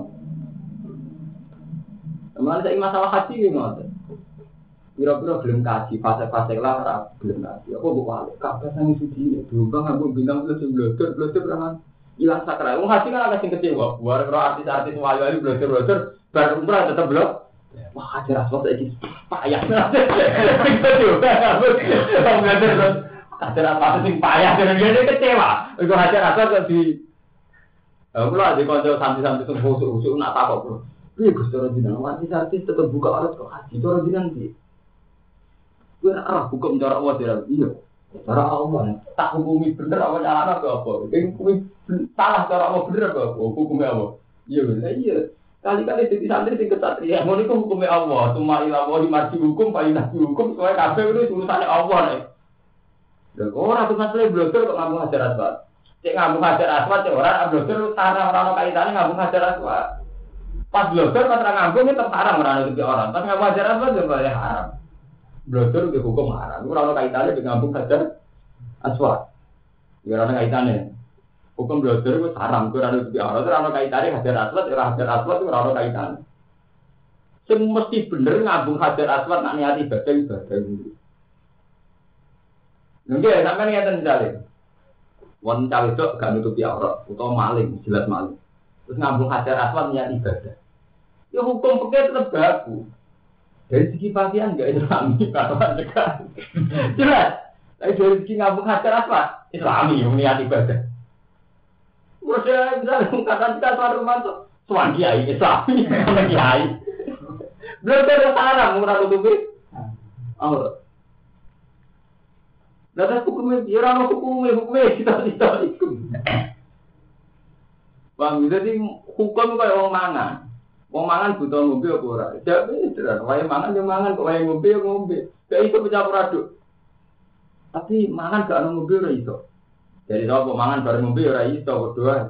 Kemarin saya masalah haji gimana? Biro-biro belum kaji, fase-fase lah belum kaji. Aku buka alik, kabeh sang suci. Dulu bang aku bintang belajar berapa? Hilang sakral. Wong haji kan agak sing kecewa. Buat artis-artis wayu-wayu belajar baru umrah tetap belum. Wah ada rasuah lagi payah. Kita juga nggak belajar. Ada rasuah sing payah dan dia kecewa. Iku haji rasuah di aku lah di konco santri-santri itu busuk-busuk nak apa bro? Iya Gus cara jenengan artis tetap buka alat kok haji cara jenengan sih. Gue buka mencorak wajah iya. Cara Allah, tak hukumi bener apa nyalahno ke apa? Hukumi salah cara Allah bener apa? Hukumnya apa? Iya, iya. Kali-kali jadi santri sing kesatria, ngono iku hukumnya Allah. Cuma ila wa marji hukum, fa inna hukum, soalnya kabeh itu urusane Allah nek. Lha ora tuh masalah blogger kok ngambung hajar aswad. Cek ngambung hajar aswad cek ora blogger sarang ora ono kaitane ngambung hajar aswad. Pas blogger pas ra ngambung tetep haram ora ono orang. Pas ngambung hajar aswad yo boleh haram. Blogger ke hukum haram. Ora ono kaitane dengan ngambung hajar aswad. Ya ora ono kaitane. Hukum blogger itu haram, itu ada di orang, itu ada kaitannya hajar aswad itu ada kaitannya. Semua mesti bener ngabung hajar aswad nak niat ibadah dulu. Nggih, sampeyan ngeten jale. Wong cawe tok gak nutupi aurat utawa maling, jelas maling. Terus ngabung hajar aswad niat ibadah. Ya hukum fikih tetap baku. Dari segi pakaian enggak Islami kalau ada. Jelas. Tapi dari segi ngabung hajar aswad Islami niat ibadah. Proses misalnya mengatakan kita suatu mantu, suan kiai Islami, kiai. Benar-benar haram mengurang tutupi. Aurat. Lalu hukumnya, ya orang hukumnya kita itu. Bang, jadi hukum kayak orang mangan. Orang mangan butuh ngombe apa ora? Jadi beneran, wae mangan yo mangan, kok wae ngombe yo ngombe. Kayak itu bercampur aduk. Tapi mangan gak ono ngombe ora iso. Jadi kalau mangan bareng ngombe ora iso berdoa.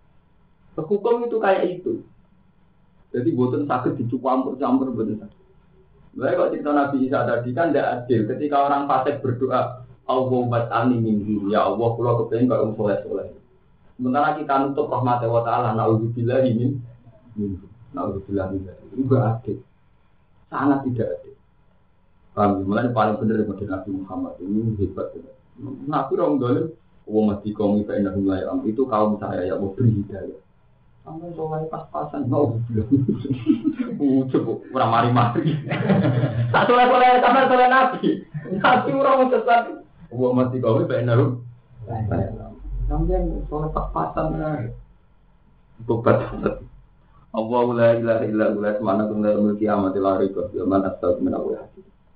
Hukum itu kayak itu. Jadi boten sakit dicampur-campur boten sakit. Baik kalau cerita Nabi Isa tadi kan tidak adil. Ketika orang fasik berdoa, Allahumma ani minhu, ya Allah, kula kepengin karo soleh-soleh. Sementara kita nutup rahmat Allah Taala, naudzubillahi minhu. Naudzubillahi minhu. Itu enggak adil. Sangat tidak adil. Kami mulai paling benar dari Nabi Muhammad ini hebat. Nabi orang dolim. Wong mati kaum itu enak mulai itu kaum saya yang mau beri hidayah. Sampai soalnya pas-pasan mau bilang, coba orang mari-mari. Tak soleh-soleh sama soleh nabi. Nabi orang sesat. Wong mati kaum itu enak saya. Sampai soleh pas-pasan. Tobat. Allahu la ilaha illa huwa subhanahu wa ta'ala kiamatil arifah. Yaman astagfirullah.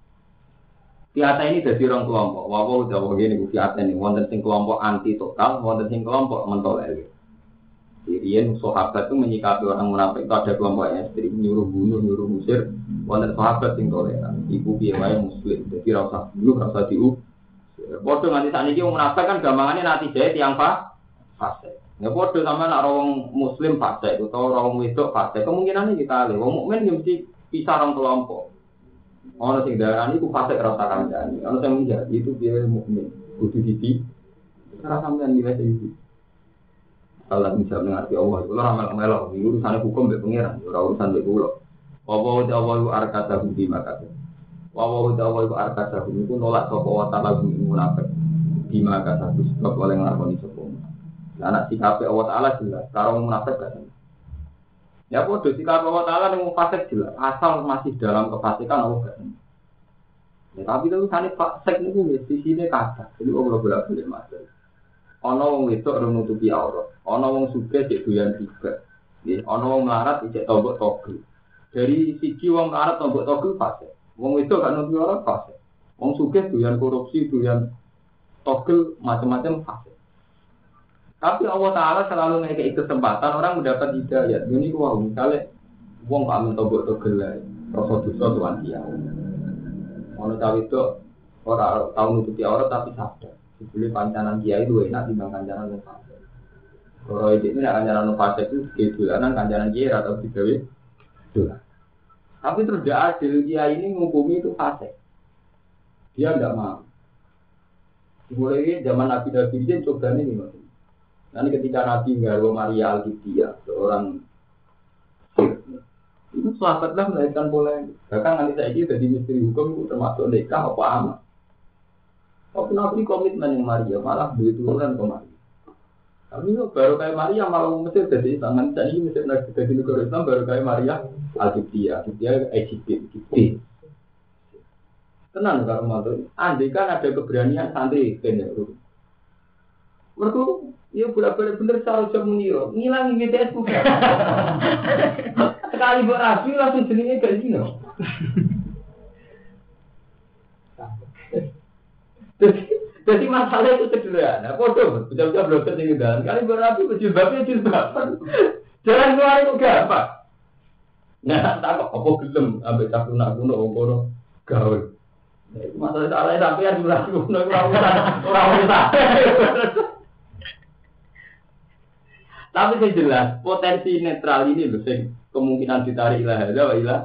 Fiata ini dari orang kelompok. Walau jauh gini, fiata ini wonten sing kelompok anti total, wonten sing kelompok mentolak. Sirian sahabat itu menyikapi orang munafik itu ada kelompok ekstrim, nyuruh bunuh, nyuruh musir. Wonten sahabat sing toleran. Ibu biaya muslim, jadi rasa bunuh, rasa diu. Bodoh nanti saat ini munafik kan gampangannya nanti jahit yang fase. Ya bodoh sama nak orang muslim fase, atau orang wedok fase. Kemungkinannya kita lihat, orang mukmin mesti pisah orang kelompok. Orang sing darani ku fase rasa kandhani. Orang sing menjadi itu dia mukmin. Kudu dadi rasa sampeyan nilai iki. Allah bisa mengerti Allah. Kalau ramal melo, urusan hukum mbek pangeran, ora urusan mbek kula. Apa ta'awu arkata budi maka. Wa ta'awu arkata budi ku nolak sapa wa ta'ala munafik. Di maka satu sebab oleh nglakoni sapa. Lah nek sikape Allah Taala jelas, karo munafik gak. Ya bodoh, jika Allah Ta'ala yang fasik jelas, asal masih dalam kefasikan Allah gak. Ya, tapi itu kan fasik itu di sini kata, jadi Allah boleh masuk. Ono wong wedok ora nutupi aurat, ono wong sugih cek doyan riba. Nggih, ono wong melarat cek tombok togel. Dari siji wong melarat tombok togel fasik. Wong wedok gak nutupi aurat fasik. Wong sugih doyan korupsi, doyan togel macam-macam fasik. Tapi Allah Ta'ala selalu ngekei kesempatan orang mendapat hidayah. Ini wah misalnya wong gak mentobok togel lah, rasa dosa tuan dia. Ono cawe itu orang tahu nutupi aurat tapi sadar. Sebeli pancanan kiai itu enak timbang kancanan yang fase. Kalau ini nak kancanan fase itu kedulanan kancanan kiai atau digawe dolan. Tapi terus dia adil kiai ini menghukumi itu fase. Dia tidak mau. Mulai zaman Nabi David coba ini gimana? Nanti ketika Nabi nggawa Maria Al-Qibtiyah, seorang itu sahabatlah melahirkan polemik. Bahkan nanti saya ini jadi misteri hukum itu termasuk nikah apa amat. Tapi Nabi komitmen yang Maria malah duit turunan ke Maria. Tapi baru kayak Maria malah Mesir jadi tangan saya ini Mesir lagi jadi negara Islam baru kayak Maria Al-Qibtiyah, Egypt. Tenang kalau matur. Andai kan ada keberanian santri kene. Mereka ya bolak-balik bener salah jam meniro, ngilangi BTS bukan. Sekali buat rapi langsung jenenge gak dino. Jadi masalah itu sederhana. Bodoh, bocah-bocah belum ketinggalan. Kali berapi jilbabnya jilbaban. Jalan keluar itu gampang. Nah, tak kok apa gelem ambek cah kuno ngono gaul. Masalah salah sampean ora kuno ora usah. Tapi yang jelas potensi netral ini loh sing kemungkinan ditarik ilah ada wa ilah.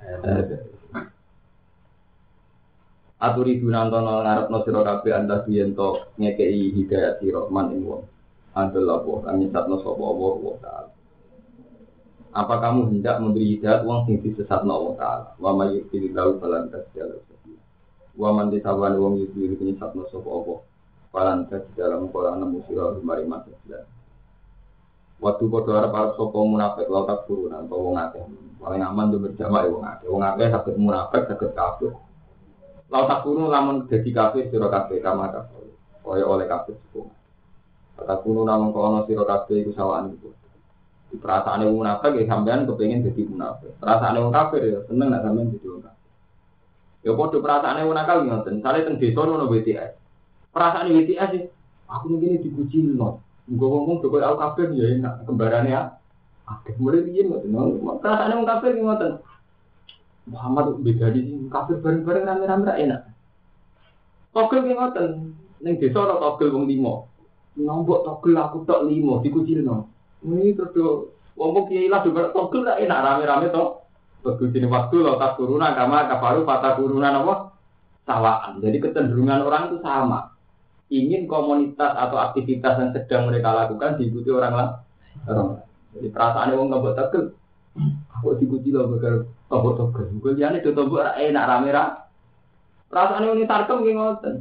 Aturi dunantono ngarepno sira kabeh anda biyen-to ngekeki hidayah sira man ing wong. Adalah apa kang nyesatno sapa Allah Ta'ala. Apa kamu hendak memberi hidayah wong sing disesatno Allah Ta'ala? Wa may yudhilillahu falan tajid wa man ditawan wong yudhil nyesatno sapa Allah. Falan tajid dalam Quran musira mari masalah. Waktu padha arep sapa munafik la tak turun atau wong akeh. Paling aman yo berjamaah wong akeh. Wong akeh saged munafik saged kafir. Lau takunu lamun dadi kafir sira kabeh kama kafir. Kaya oleh kafir sepuluh. Takunu lamun kono sira kabeh iku sawaan iku. Di perasaane wong munafik ya sampean kepengin dadi munafik. Perasaane wong kafir ya seneng nek sampean dadi wong kafir. Ya padha perasaane wong nakal ngoten. Sale teng desa ono BTS. Perasaane BTS sih aku ngene dipuji lho. Nggo ngomong kok aku kafir ya enak kembarane ya. Akeh mulai piye ngoten. Perasaane wong kafir ngoten. Muhammad beda di kafir bareng-bareng rame-rame enak. Togel ki ngoten, ning desa ora togel wong 5. Nombok togel aku tok 5 dikucilno. Ini terus wong kiai lah juga togel ra enak rame-rame to. Begitu waktu lo tak turunan kama kafaru fata turunan apa? Sawaan. Jadi kecenderungan orang itu sama. Ingin komunitas atau aktivitas yang sedang mereka lakukan diikuti orang lain. Jadi perasaan wong ngobok togel. Aku diikuti lo bakal tombok-tombok. Gue liane do tombok enak rame-rame. Perasaane wong tarkem ki ngoten.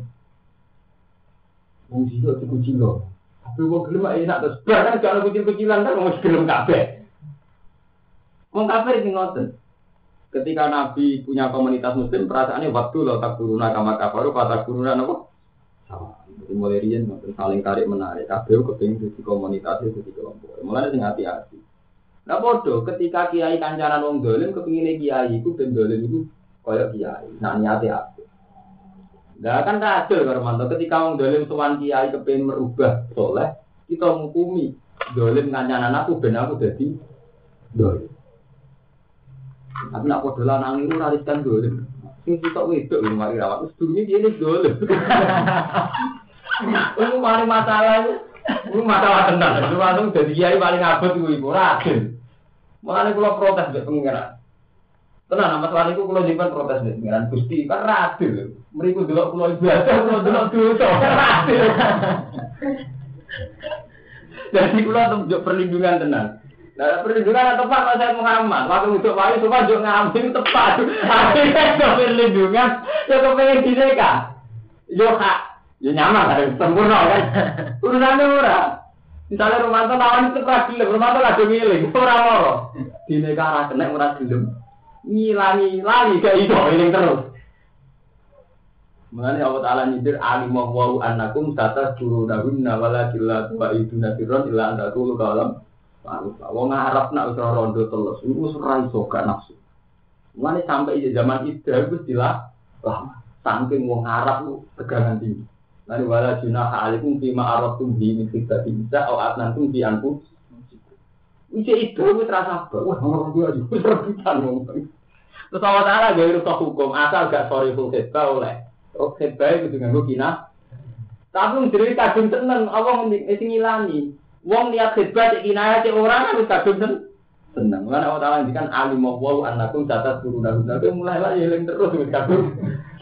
Wong sing diikuti lo. Tapi wong gelem enak terus barang kalau kecil-kecilan kan wong gelem kabeh. Wong kafir ki ngoten. Ketika Nabi punya komunitas muslim perasaannya waktu lo tak turuna kama kafaru kata turuna apa? Sama. Jadi mulai riyen saling tarik menarik. Kabeh kepengin dadi komunitas dadi kelompok. Mulane sing hati-hati. Nah bodoh, ketika kiai kancanan wong dolim kepingine kiai iku ben dolim iku kaya kiai. Nah niate aku. Lah kan kacau karo mantu ketika wong dolim sowan kiai kepengin merubah soleh, kita ngukumi dolim kancanan aku ben aku dadi dolim. Tapi nak padha lanang iku rariskan dolim. Sing sitok wedok lho mari rawat wis dungi dene dolim. Iku mari masalah itu masalah tenan. Itu langsung dadi kiai paling abot iku ora adil. Mulane kula protes mbek pengiran. Tenan masalah niku kula nyimpen protes mbek pengiran Gusti kan ra adil. Mriku delok kula ibadah kula delok dosa. Adil. Jadi kula tunjuk perlindungan tenan. Nah perlindungan tepat Pak Said Muhammad. Waktu untuk wae coba njuk ngambil tepat. Akhirnya perlindungan ya kepengin dineka. Yo hak, yo nyaman kan sempurna kan. Urusane ora. Misalnya Romanto lawan itu ora gelem, Romanto lagi ngiling, ora loro. Dine kara kena ora gelem. Ngilangi lali gak iso eling terus. Mulane Allah Taala nyindir alimah wa annakum tatazkurunahunna walakinna tu'iduna firron illa anta tulu kalam. Wong ngarep nak wis rondo telus, iku ora iso gak nafsu. Mulane sampai zaman Idul wis dilah lama. Saking wong ngarep ku tegangan tinggi. Lalu wala junaha alaikum fima aratum bi min khidati bisa au atnantum bi anfu. Itu wis rasa wah orang dua aja wis rebutan wong. Terus Allah Taala gawe rusak hukum asal gak sori full khidbah oleh. Oh khidbah itu nganggo kina. Tapi ndiri kadung tenang Allah sing ngilani. Wong niat khidbah cek kinaya cek ora kan wis kadung tenang. Lan Allah Taala ngendikan alimah wa annakum tataskuruna. Tapi mulai lah eling terus wis kadung.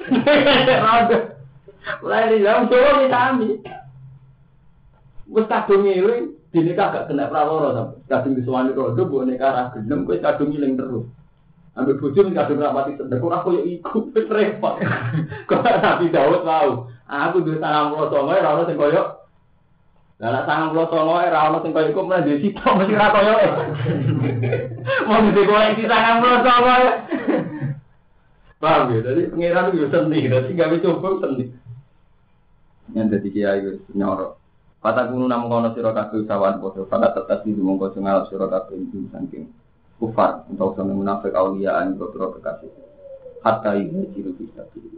Mulai di dalam Jawa kita ambil. Wes kadung ngiling, dene kagak kena praloro sampe. Kadung disuwani rodo mbok nek arah gelem kowe kadung ngiling terus. Ambil bojo kadung rapati sedek ora koyo iku wis repot. Kok Nabi Daud mau. Aku duwe 99 ora ono sing koyo. Lah nek 99 ora ono sing koyo iku mlah dhewe sitok mesti ora koyo. Mau dikoleksi 99. Paham ya? Jadi pengiran itu seni, jadi gak bisa coba seni. Yang jadi kiai itu nyorok. Kata kuno namun kono siro kabeh sawan podo. Pada tetap di mongko ngalap siro kabeh itu saking kufar untuk sama munafik auliaan berpro kekasih. Hatta ini ciri bisa pilih.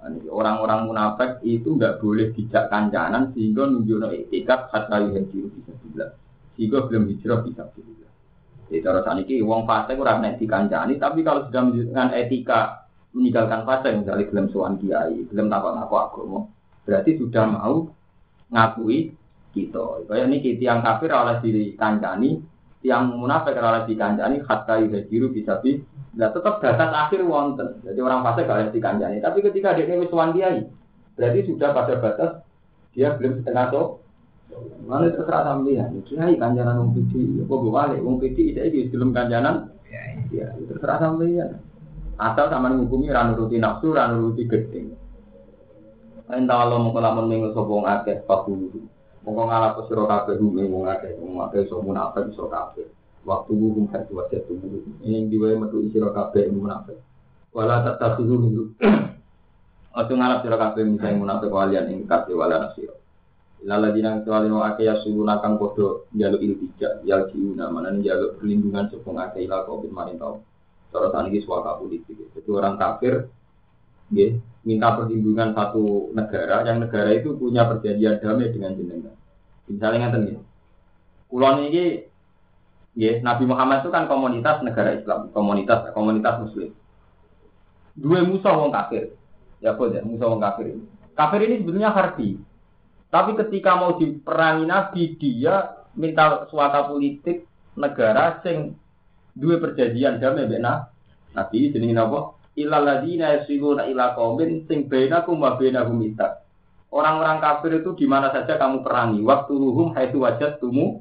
Orang-orang munafik itu nggak boleh dijak kancanan sehingga nunjukno etikat hatta yuhajiru bisa bilang. Sehingga belum hijrah bisa bilang. Jadi cara saniki wong fasik ora nek dikancani, tapi kalau sudah menunjukkan etika meninggalkan fasik misalnya gelem sowan kiai, gelem takon-takon agama, berarti sudah mau ngakui kita. Kayak niki tiyang kafir oleh diri kancani, tiyang munafik oleh dikancani hatta yuhajiru bisa bilang. Nah, tetap batas akhir wonten. Jadi orang fasik gak harus dikancani. Tapi ketika dia wis sowan kiai, berarti sudah pada batas dia belum setengah so. Mana terserah sampeyan. Kiai kancanan wong pidi, apa balik wong pidi iki belum kancanan. Ya, terserah sampeyan. Asal sampean ngukumi ra nuruti nafsu, ra nuruti gedeng. Entah Allah mongko lamun minggu sapa wong akeh pakulu. Mongko ngalap sira kabeh wong akeh iso munafik iso kabeh. Waktu hukum hati wajah tubuh ini diwai metu isiro kabeh munafik. Wala tatakhizu minhu. Atau ngarap sira kabeh misalnya munafik walian ing kabeh wala nasira. Lala dinang tualino ake ya suluna kang padha njaluk iltija ya jiuna manane njaluk perlindungan sepung ake ila covid maring tau. Cara saniki suaka politik. Jadi orang kafir nggih minta perlindungan satu negara yang negara itu punya perjanjian damai dengan jenengan. Misalnya ngaten nggih. Kula niki yes, Nabi Muhammad itu kan komunitas negara Islam, komunitas Muslim. Dua musuh wong kafir, ya boleh musuh wong kafir ini. Kafir ini sebenarnya harbi, tapi ketika mau diperangi Nabi dia minta suaka politik negara sing dua perjanjian damai benar. Nabi jenenge napa? Ilal ladina yasiluna ila qaumin sing bainakum wa bainahum mita. Orang-orang kafir itu di mana saja kamu perangi, waktu ruhum haitsu wajadtumu.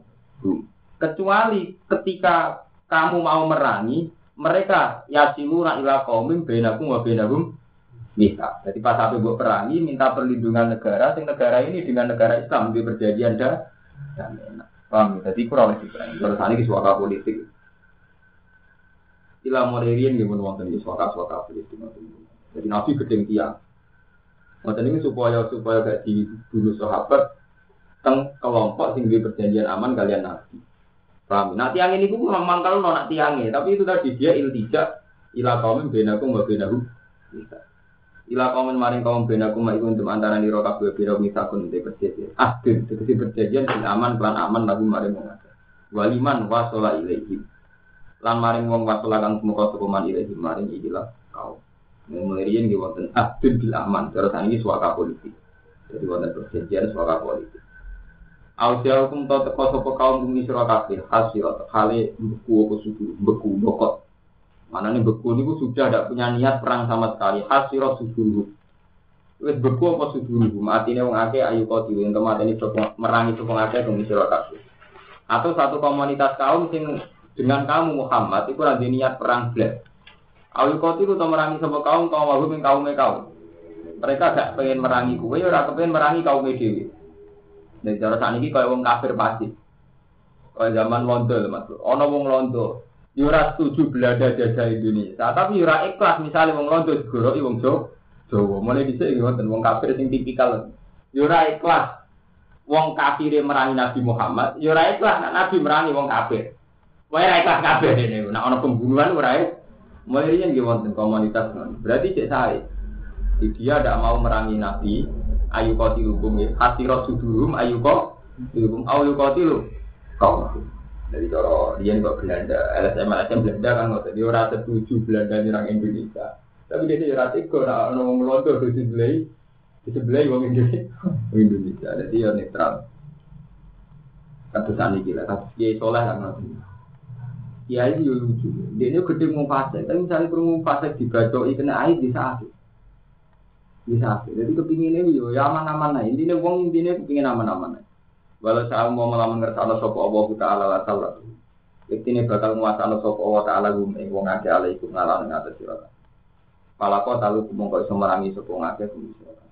Kecuali ketika kamu mau merangi, mereka yasiluna ila qaumin bainakum wa bainahum mita. Jadi pas sampai buat perangi, minta perlindungan negara, sing negara ini dengan negara Islam di perjanjian dan paham. Jadi kurang lebih perangi. Terus ini suaka politik. Ila moderian gimana wonten iki suaka politik. Jadi Nabi gedeng tiang. Wonten ini supaya gak dibunuh sahabat teng kelompok sing di perjanjian aman kalian Nabi. Paham? Nah tiang ini pun memang kalau nak tiangnya, tapi itu tadi dia iltijak ila kaumin benakum wa benahum. Ila kaumin maring kaum benakum ma iku untuk antara nira kabeh bira misakun te perjanjian. Tegese perjanjian sing aman lan aman lagu maring wong akeh. Waliman wasala ilaihim. Lan maring wong wasala kang muka sukuman ilaihim maring ikilah kaum. Mulaian nggih wonten bil aman, terus ini suaka politik. Jadi wonten perjanjian suaka politik. Ausia hukum tau teko sapa kaum bumi sira kabeh hasil hale beku bokot. Manane beku niku sudah tidak punya niat perang sama sekali. Hasil suduru. Wis beku apa suduru? Matine wong akeh ayu kok diwen kemateni merangi sapa akeh bumi sira kabeh. Atau satu komunitas kaum sing dengan kamu Muhammad iku ora niat perang blas. Ayu kok itu merangi sapa kaum wae ing kaume kaum. Mereka gak pengen merangi kowe ora kepengen merangi kaum dhewe. Dari cara saat ini kalau wong kafir pasti, kalau zaman Londo Mas, ono wong Londo, yura setuju Belanda jajah Indonesia, tapi yura ikhlas misalnya wong Londo digoroi wong Jawa, mulai bisa gitu, wong kafir sing tipikal, yura ikhlas, wong kafir merangi Nabi Muhammad, yura ikhlas Nabi merangi wong kafir, wah ikhlas kafir ini, nah ono pembunuhan yura, mulai dia gitu komunitas, berarti cek saya, dia tidak mau merangi Nabi. Ayu qatilukum ya hasirat sudurum ayu qatilukum ayu qatilu kaum dari cara dia kok Belanda LSM Belanda kan kok dia ora setuju Belanda nyerang Indonesia tapi dia ora tega ora ono wong Londo disebelai wong Indonesia jadi ya netral katusane iki lah katus kiai saleh kan kiai yo lucu dia ini gede mau fase tapi misalnya perlu fase dibacoi kena air bisa bisa, jadi kepinginnya yo ya aman-aman lah. Intinya wong kepingin aman-aman. Walau saya mau melamun ngerti sopo Allah Taala la salat. Intinya bakal nguasano sopo Allah Taala wong ngake alaikum ngalah ngatas sira. Palako talu mongko iso merangi sopo ngake kuwi sira.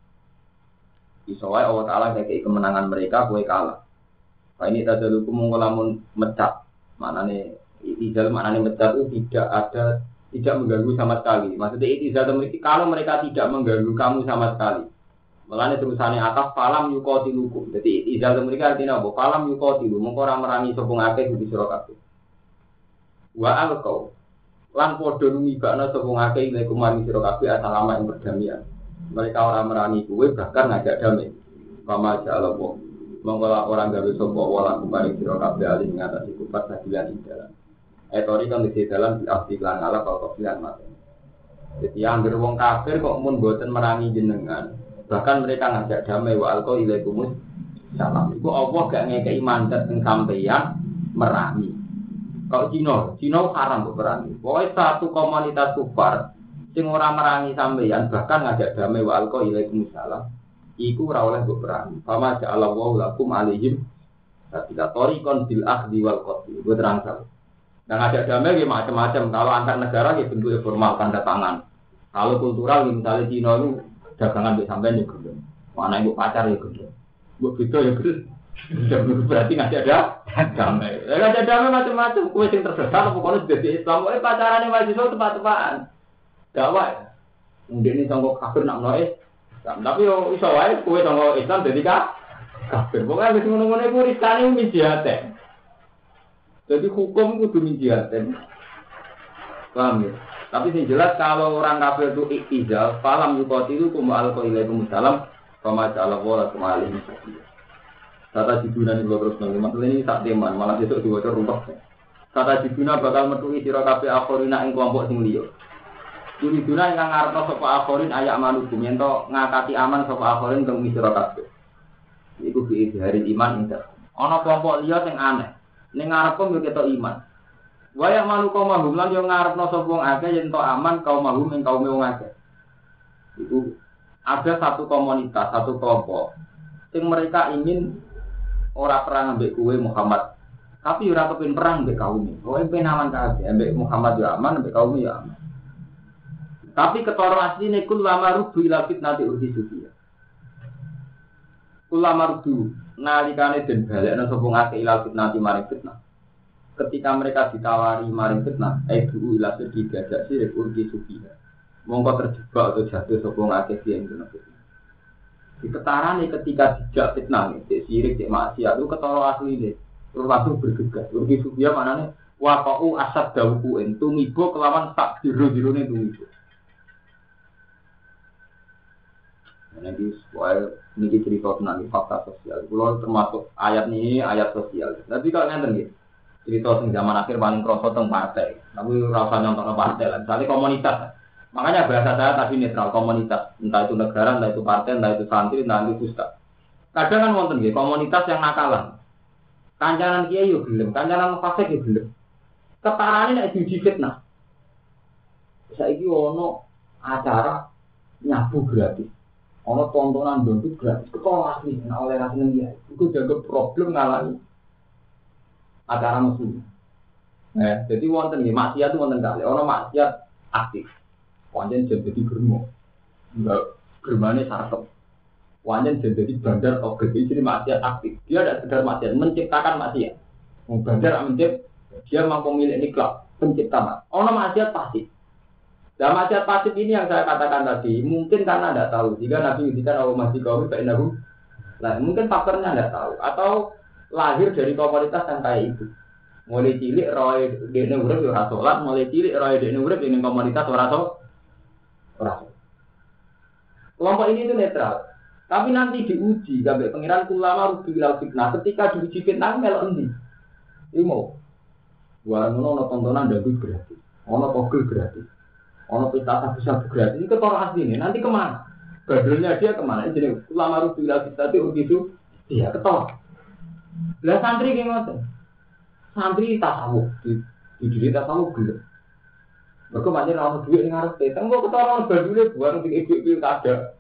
Iso wae Allah Taala ngekeki kemenangan mereka kowe kalah. Pak ini tadalukum mongko lamun mecat. Manane itizal maknane mecat itu tidak mengganggu sama sekali. Maksudnya itizal memiliki kalau mereka tidak mengganggu kamu sama sekali. Mulane terusannya atas falam yuqatilukum. Jadi itizal mereka artinya apa? Falam yuqatilu mongko ora merangi sapa ngakeh kudu sira kabeh. Wa alqau lan padha numibakna sapa ngakeh ilaikum maring sira kabeh asalama ing perdamaian. Mereka orang merangi kue bahkan ngajak damai. Kama ja'ala Allah. Mengkola orang gawe sapa wala kumari sira kabeh ali ngatasi kufar sajilan ing dalan. Etori kan di dalam diaktif lan ala kalau pilihan mati. Jadi anggere wong kafir kok mun boten merangi jenengan, bahkan mereka ngajak damai wa alqa ilaikumus salam. Iku Allah gak ngekeki mandat teng sampeyan merangi. Kalau Cina haram kok merangi. Pokoke satu komunitas kufar sing ora merangi sampeyan bahkan ngajak damai wa alqa ilaikumus salam. Iku ora oleh kok merangi. Fama ja'ala Allahu lakum alaihim sabila tariqan bil akhdi wal qatl. Gue terang salah. Dan ada damai ya macam-macam. Kalau antar negara ya bentuknya formal tanda tangan. Kalau kultural misalnya Cina itu dagangan di sampean ya gendong. Mana ibu pacar ya gendong. Buat itu ya gendong. Berarti nggak ada damai. Nggak ada damai macam-macam. Kue yang tersesat pokoknya sudah di Islam. Pacarannya mahasiswa tepat-tepatan. Dakwah. Mungkin ini sanggup kafir nak noise. Tapi yo iso wae kue sanggup Islam jadi kafir. Pokoknya wis ngono-ngono iku risane mijate. Jadi hukum kudu minjiaten. Paham ya? Tapi yang jelas kalau orang kafir itu iktizal, falam yuqatilu kuma alqailaikum salam, fama ja'ala wala kumali. Kata dibuna ning terus nang masalah ini tak teman, malah besok diwaca rumpah. Kata dibuna bakal metuhi sira kabeh akhirina ing kelompok sing liya. Dibuna ingkang ngarepno sapa akhirin ayak manungsa yen to ngakati aman sapa akhirin teng sira kabeh. Iku bi hari iman indah. Ana kelompok liya sing aneh. Ning ngarepem yo ketok iman. Waya malu kaum mahum lan yo ngarepno sapa wong akeh yen to aman kaum mahum ing kaum wong akeh. Itu ada satu komunitas, satu kelompok sing mereka ingin ora perang ambek kowe Muhammad. Tapi ora kepin perang ambek kaum. Kowe pengen aman kabeh, ambek Muhammad yo aman, ambek kaum yo aman. Tapi ketara asline kul lama rubu ila fitnati urhisubiya. Kul lama rubu nalikane den balekna sapa ngake ilal fitnah maring fitnah. Ketika mereka ditawari maring fitnah, aidu ila sedhi gajak sirik urgi subiha. Mongko terjebak atau jatuh sapa ngake yen kena fitnah. Diketarane ketika dijak fitnah nek sirik cek maksiat itu ketara asline. Terus langsung bergegas. Urgi subiha manane waqa'u asad dawku entu mibo kelawan sak jero-jerone tumibo. Nanti soal ini cerita tentang fakta sosial. Kalau termasuk ayat ini ayat sosial. Tapi kalau nanti gitu, cerita tentang zaman akhir paling kroso tentang partai. Tapi rasa nyontok partai lah. Misalnya komunitas. Makanya bahasa saya tadi netral komunitas. Entah itu negara, entah itu partai, entah itu santri, entah itu ustaz. Kadang kan wonten gitu komunitas yang nakalan. Kancanan kiai yo gelem, kancanan fasik yo gelem. Ketarane nek diuji fitnah. Saiki ono acara nyabu gratis. Ono tontonan dompet gratis, ketolak asli, nah oleh rasanya dia. Itu jaga problem ngalami acara musuh. Jadi wonten nih, maksiat itu wonten kali. Ono maksiat aktif, wanjen jadi germo, enggak germane sarkep. Wanjen jadi bandar oke, jadi maksiat aktif. Dia tidak sekedar maksiat, menciptakan maksiat. Bandar mencipta, dia mampu milik niklab, pencipta. Ono maksiat pasti. Nah, maksiat pasif ini yang saya katakan tadi, mungkin karena tidak tahu. Jika Nabi ngendikan Allah masih kau fa'innahu. Nah, mungkin faktornya tidak tahu atau lahir dari komunitas yang kayak itu. Mulai cilik roy dene urip ora salat, mulai cilik roy dene urip ning komunitas ora salat. Kelompok ini itu netral. Tapi nanti diuji sampai pengiran ulama rubi ila fitnah. Ketika diuji fitnah melok endi? Iki mau. Wah, ono tontonan dangdut gratis. Ono togel gratis. Ono pesta bisa gratis itu orang asli ini. Nanti kemana? Badulnya dia kemana? Jadi ulama rubi ila fitnah itu dia ketolak. Lah santri ki ngoten. Santri tasawuf, di diri tasawuf gelem. Mergo pancen ora duwe ning ngarepe. Tenggo ketara badule buang ning ibu-ibu kada.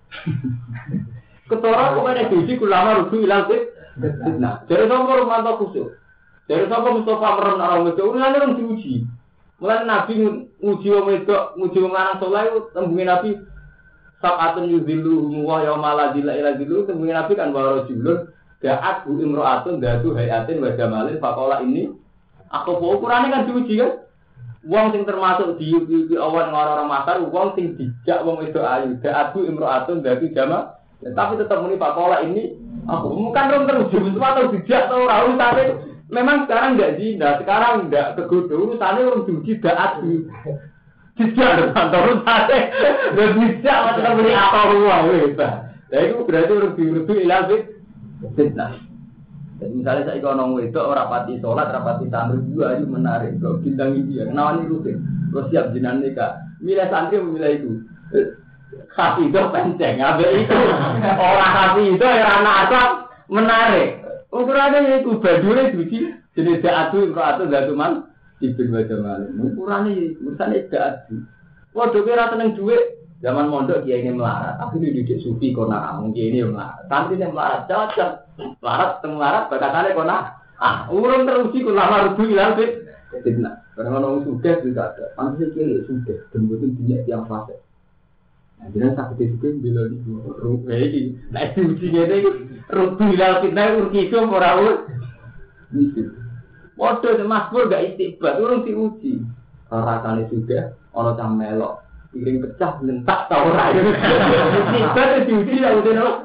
Ketara kok nek diuji ulama rubi ila fitnah. Jadi sapa rumanto kusuk. Jadi sapa Mustafa meron ora wedok, urane rung diuji. Mulane Nabi nguji wong wedok, nguji wong lanang saleh tembunge Nabi sab'atun yuzilluhum wa yawma la zilla illa zilluh. Tembunge Nabi kan wa rajulun da'at bu imra'atun datu hayatin wa jamalin faqala ini aku ukurane kan diuji kan. Wong sing termasuk diuji awan orang-orang masar, wong sing dijak wong wedok ayu, da'at bu imra'atun datu jamal. Tapi tetap muni faqala ini aku bukan rom teruji atau dijak atau ora urusane. Memang sekarang enggak zina, sekarang enggak kegoda, urusannya orang diuji da'at. Tidak kantor sate. Dan tidak macam beli apa ruang wis. Lah itu berarti rugi-rugi ilal fitnah. Jadi misalnya saya kalau itu orang pati sholat, orang pati santri juga itu menarik. Kalau bintang ini ya, kenapa ini rutin? Terus siap jinan nikah. Milih santri memilih itu. Hati itu penceng, abis itu orang hati itu yang anak asal menarik. Ukurannya itu badurnya suci. Jenis da'adu, ro'atu, da'atuman. Ibn Wajamali. Ukurannya urusannya da'adu. Waduh kira seneng duit. Zaman mondok dia ini melarat. Tapi ini didik sufi kona. Mungkin ini melarat. Santri ini melarat. Cocok. Melarat, bakatannya kona. Urung teruji kulama rubu ilang fitnah. Karena orang sudah juga ada. Pantasnya kiri sudah. Dan betul banyak yang fase. Nah, jadi sakit itu bila di rubu ini. Nah, diujinya ini rubu ilang fitnah. Urkiso morawut. Gitu. Waduh, Mas Pur gak istiqbat. Urung diuji. Rasanya sudah. Ono cah melok. Piring pecah, lentak, tau ora. Istiqbat itu diuji ya udah.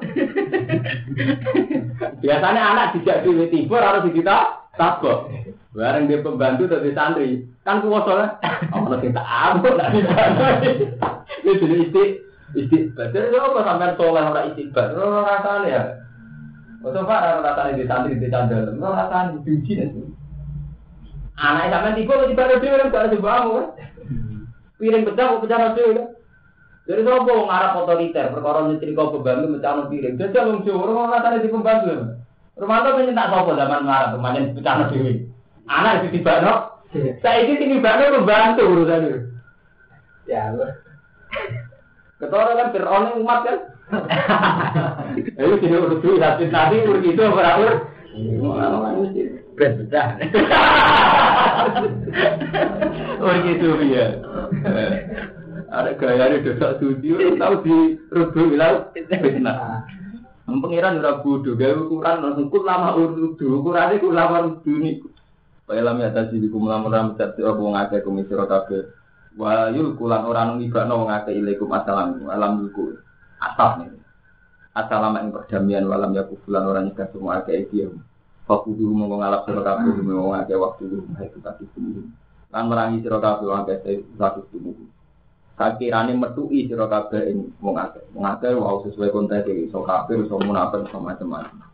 Biasanya anak dijak di tibur harus kita tabok. Bareng dia pembantu dari santri. Kan kuwasa lah. Ono sing tak ambek lah dibantu. Itu jadi istiqbat. Jadi apa sampean soleh ora istiqbat? Ora rasane ya. Coba ora rasane di santri di candal. Ora rasane diuji nek. Anak sampean tibur dibare dhewe kan gak sebamu kan. Piring pecah dhewe. Jadi sopo ngarap otoriter, perkara nyetrika pembantu mecahno piring. Jajal wong Jawa ora rasane di pembantu. Romanto penyentak sopo zaman ngarap pemanen pecahno dhewe. Anak ditibakno. Saiki ditibakno pembantu urusane. Ya Allah. Ketara kan Fir'aun umat kan. Ayo sini urus duit nanti urus itu ora urus. Berat pecah. Urus itu ya. Ada gaya ada dosa suci, tahu di rubu bilang fitnah. Pengiran ora bodoh, gaya ukuran langsung lama ukurannya lama dunia. Payalam ya tadi di kumlam ram satu wong akeh kumisira kabeh. Wa yul kulan ora nungibakno wong akeh ilaikum assalam alam yuku. Asal nih. Assalamu ing perdamaian walam ya kufulan ora nyegah semua akeh iki. Fakudu monggo ngalap sira kabeh wong akeh waktu itu tadi kuwi. Lan merangi sira kabeh wong akeh satu tubuh. Sakirane metuki sira kabeh ing wong akeh. Wong akeh wae sesuai konteks iki, iso kafir, iso munafik, iso macam-macam.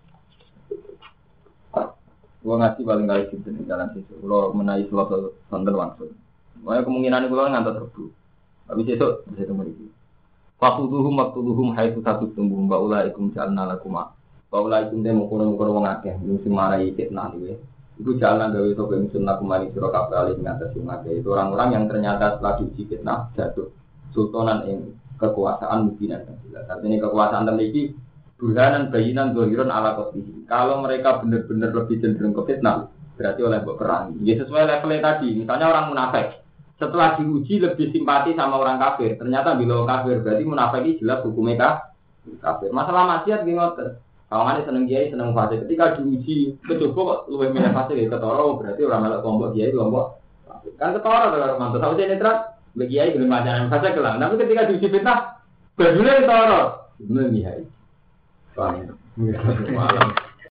Gua ngasih paling kali di jalan situ. Kalau menaik suatu sonten langsung. Makanya kemungkinan itu ngantar terbu. Habis itu bisa temu lagi. Waktuduhum haitsu tatumbuhum wa ulaikum ja'alna lakum. Wa ulaikum demo kono wong akeh sing marai fitnah iki. Iku jalan gawe to ben sunnah kumari sira kabeh ali ngatas sing akeh. Itu orang-orang yang ternyata setelah diuji fitnah jatuh sultanan ing kekuasaan mubinan. Artinya kekuasaan memiliki burhanan bayinan dohiron ala kotihi. Kalau mereka benar-benar lebih cenderung ke fitnah, berarti oleh mbok perangi. Ya sesuai levelnya tadi. Misalnya orang munafik, setelah diuji lebih simpati sama orang kafir. Ternyata bila kafir berarti munafik ini jelas hukumnya kafir. Masalah maksiat gini ngoten. Kalau ada seneng kiai seneng fasik. Ketika diuji kecoba kok lebih milih fasik ya ketoro berarti orang melok kelompok kiai kelompok kan ketoro kalau mantu. Tahu saya netral bagi kiai belum ajaran fasik kelang. Tapi ketika diuji fitnah, berdua ketoro. Benar kiai. Paham.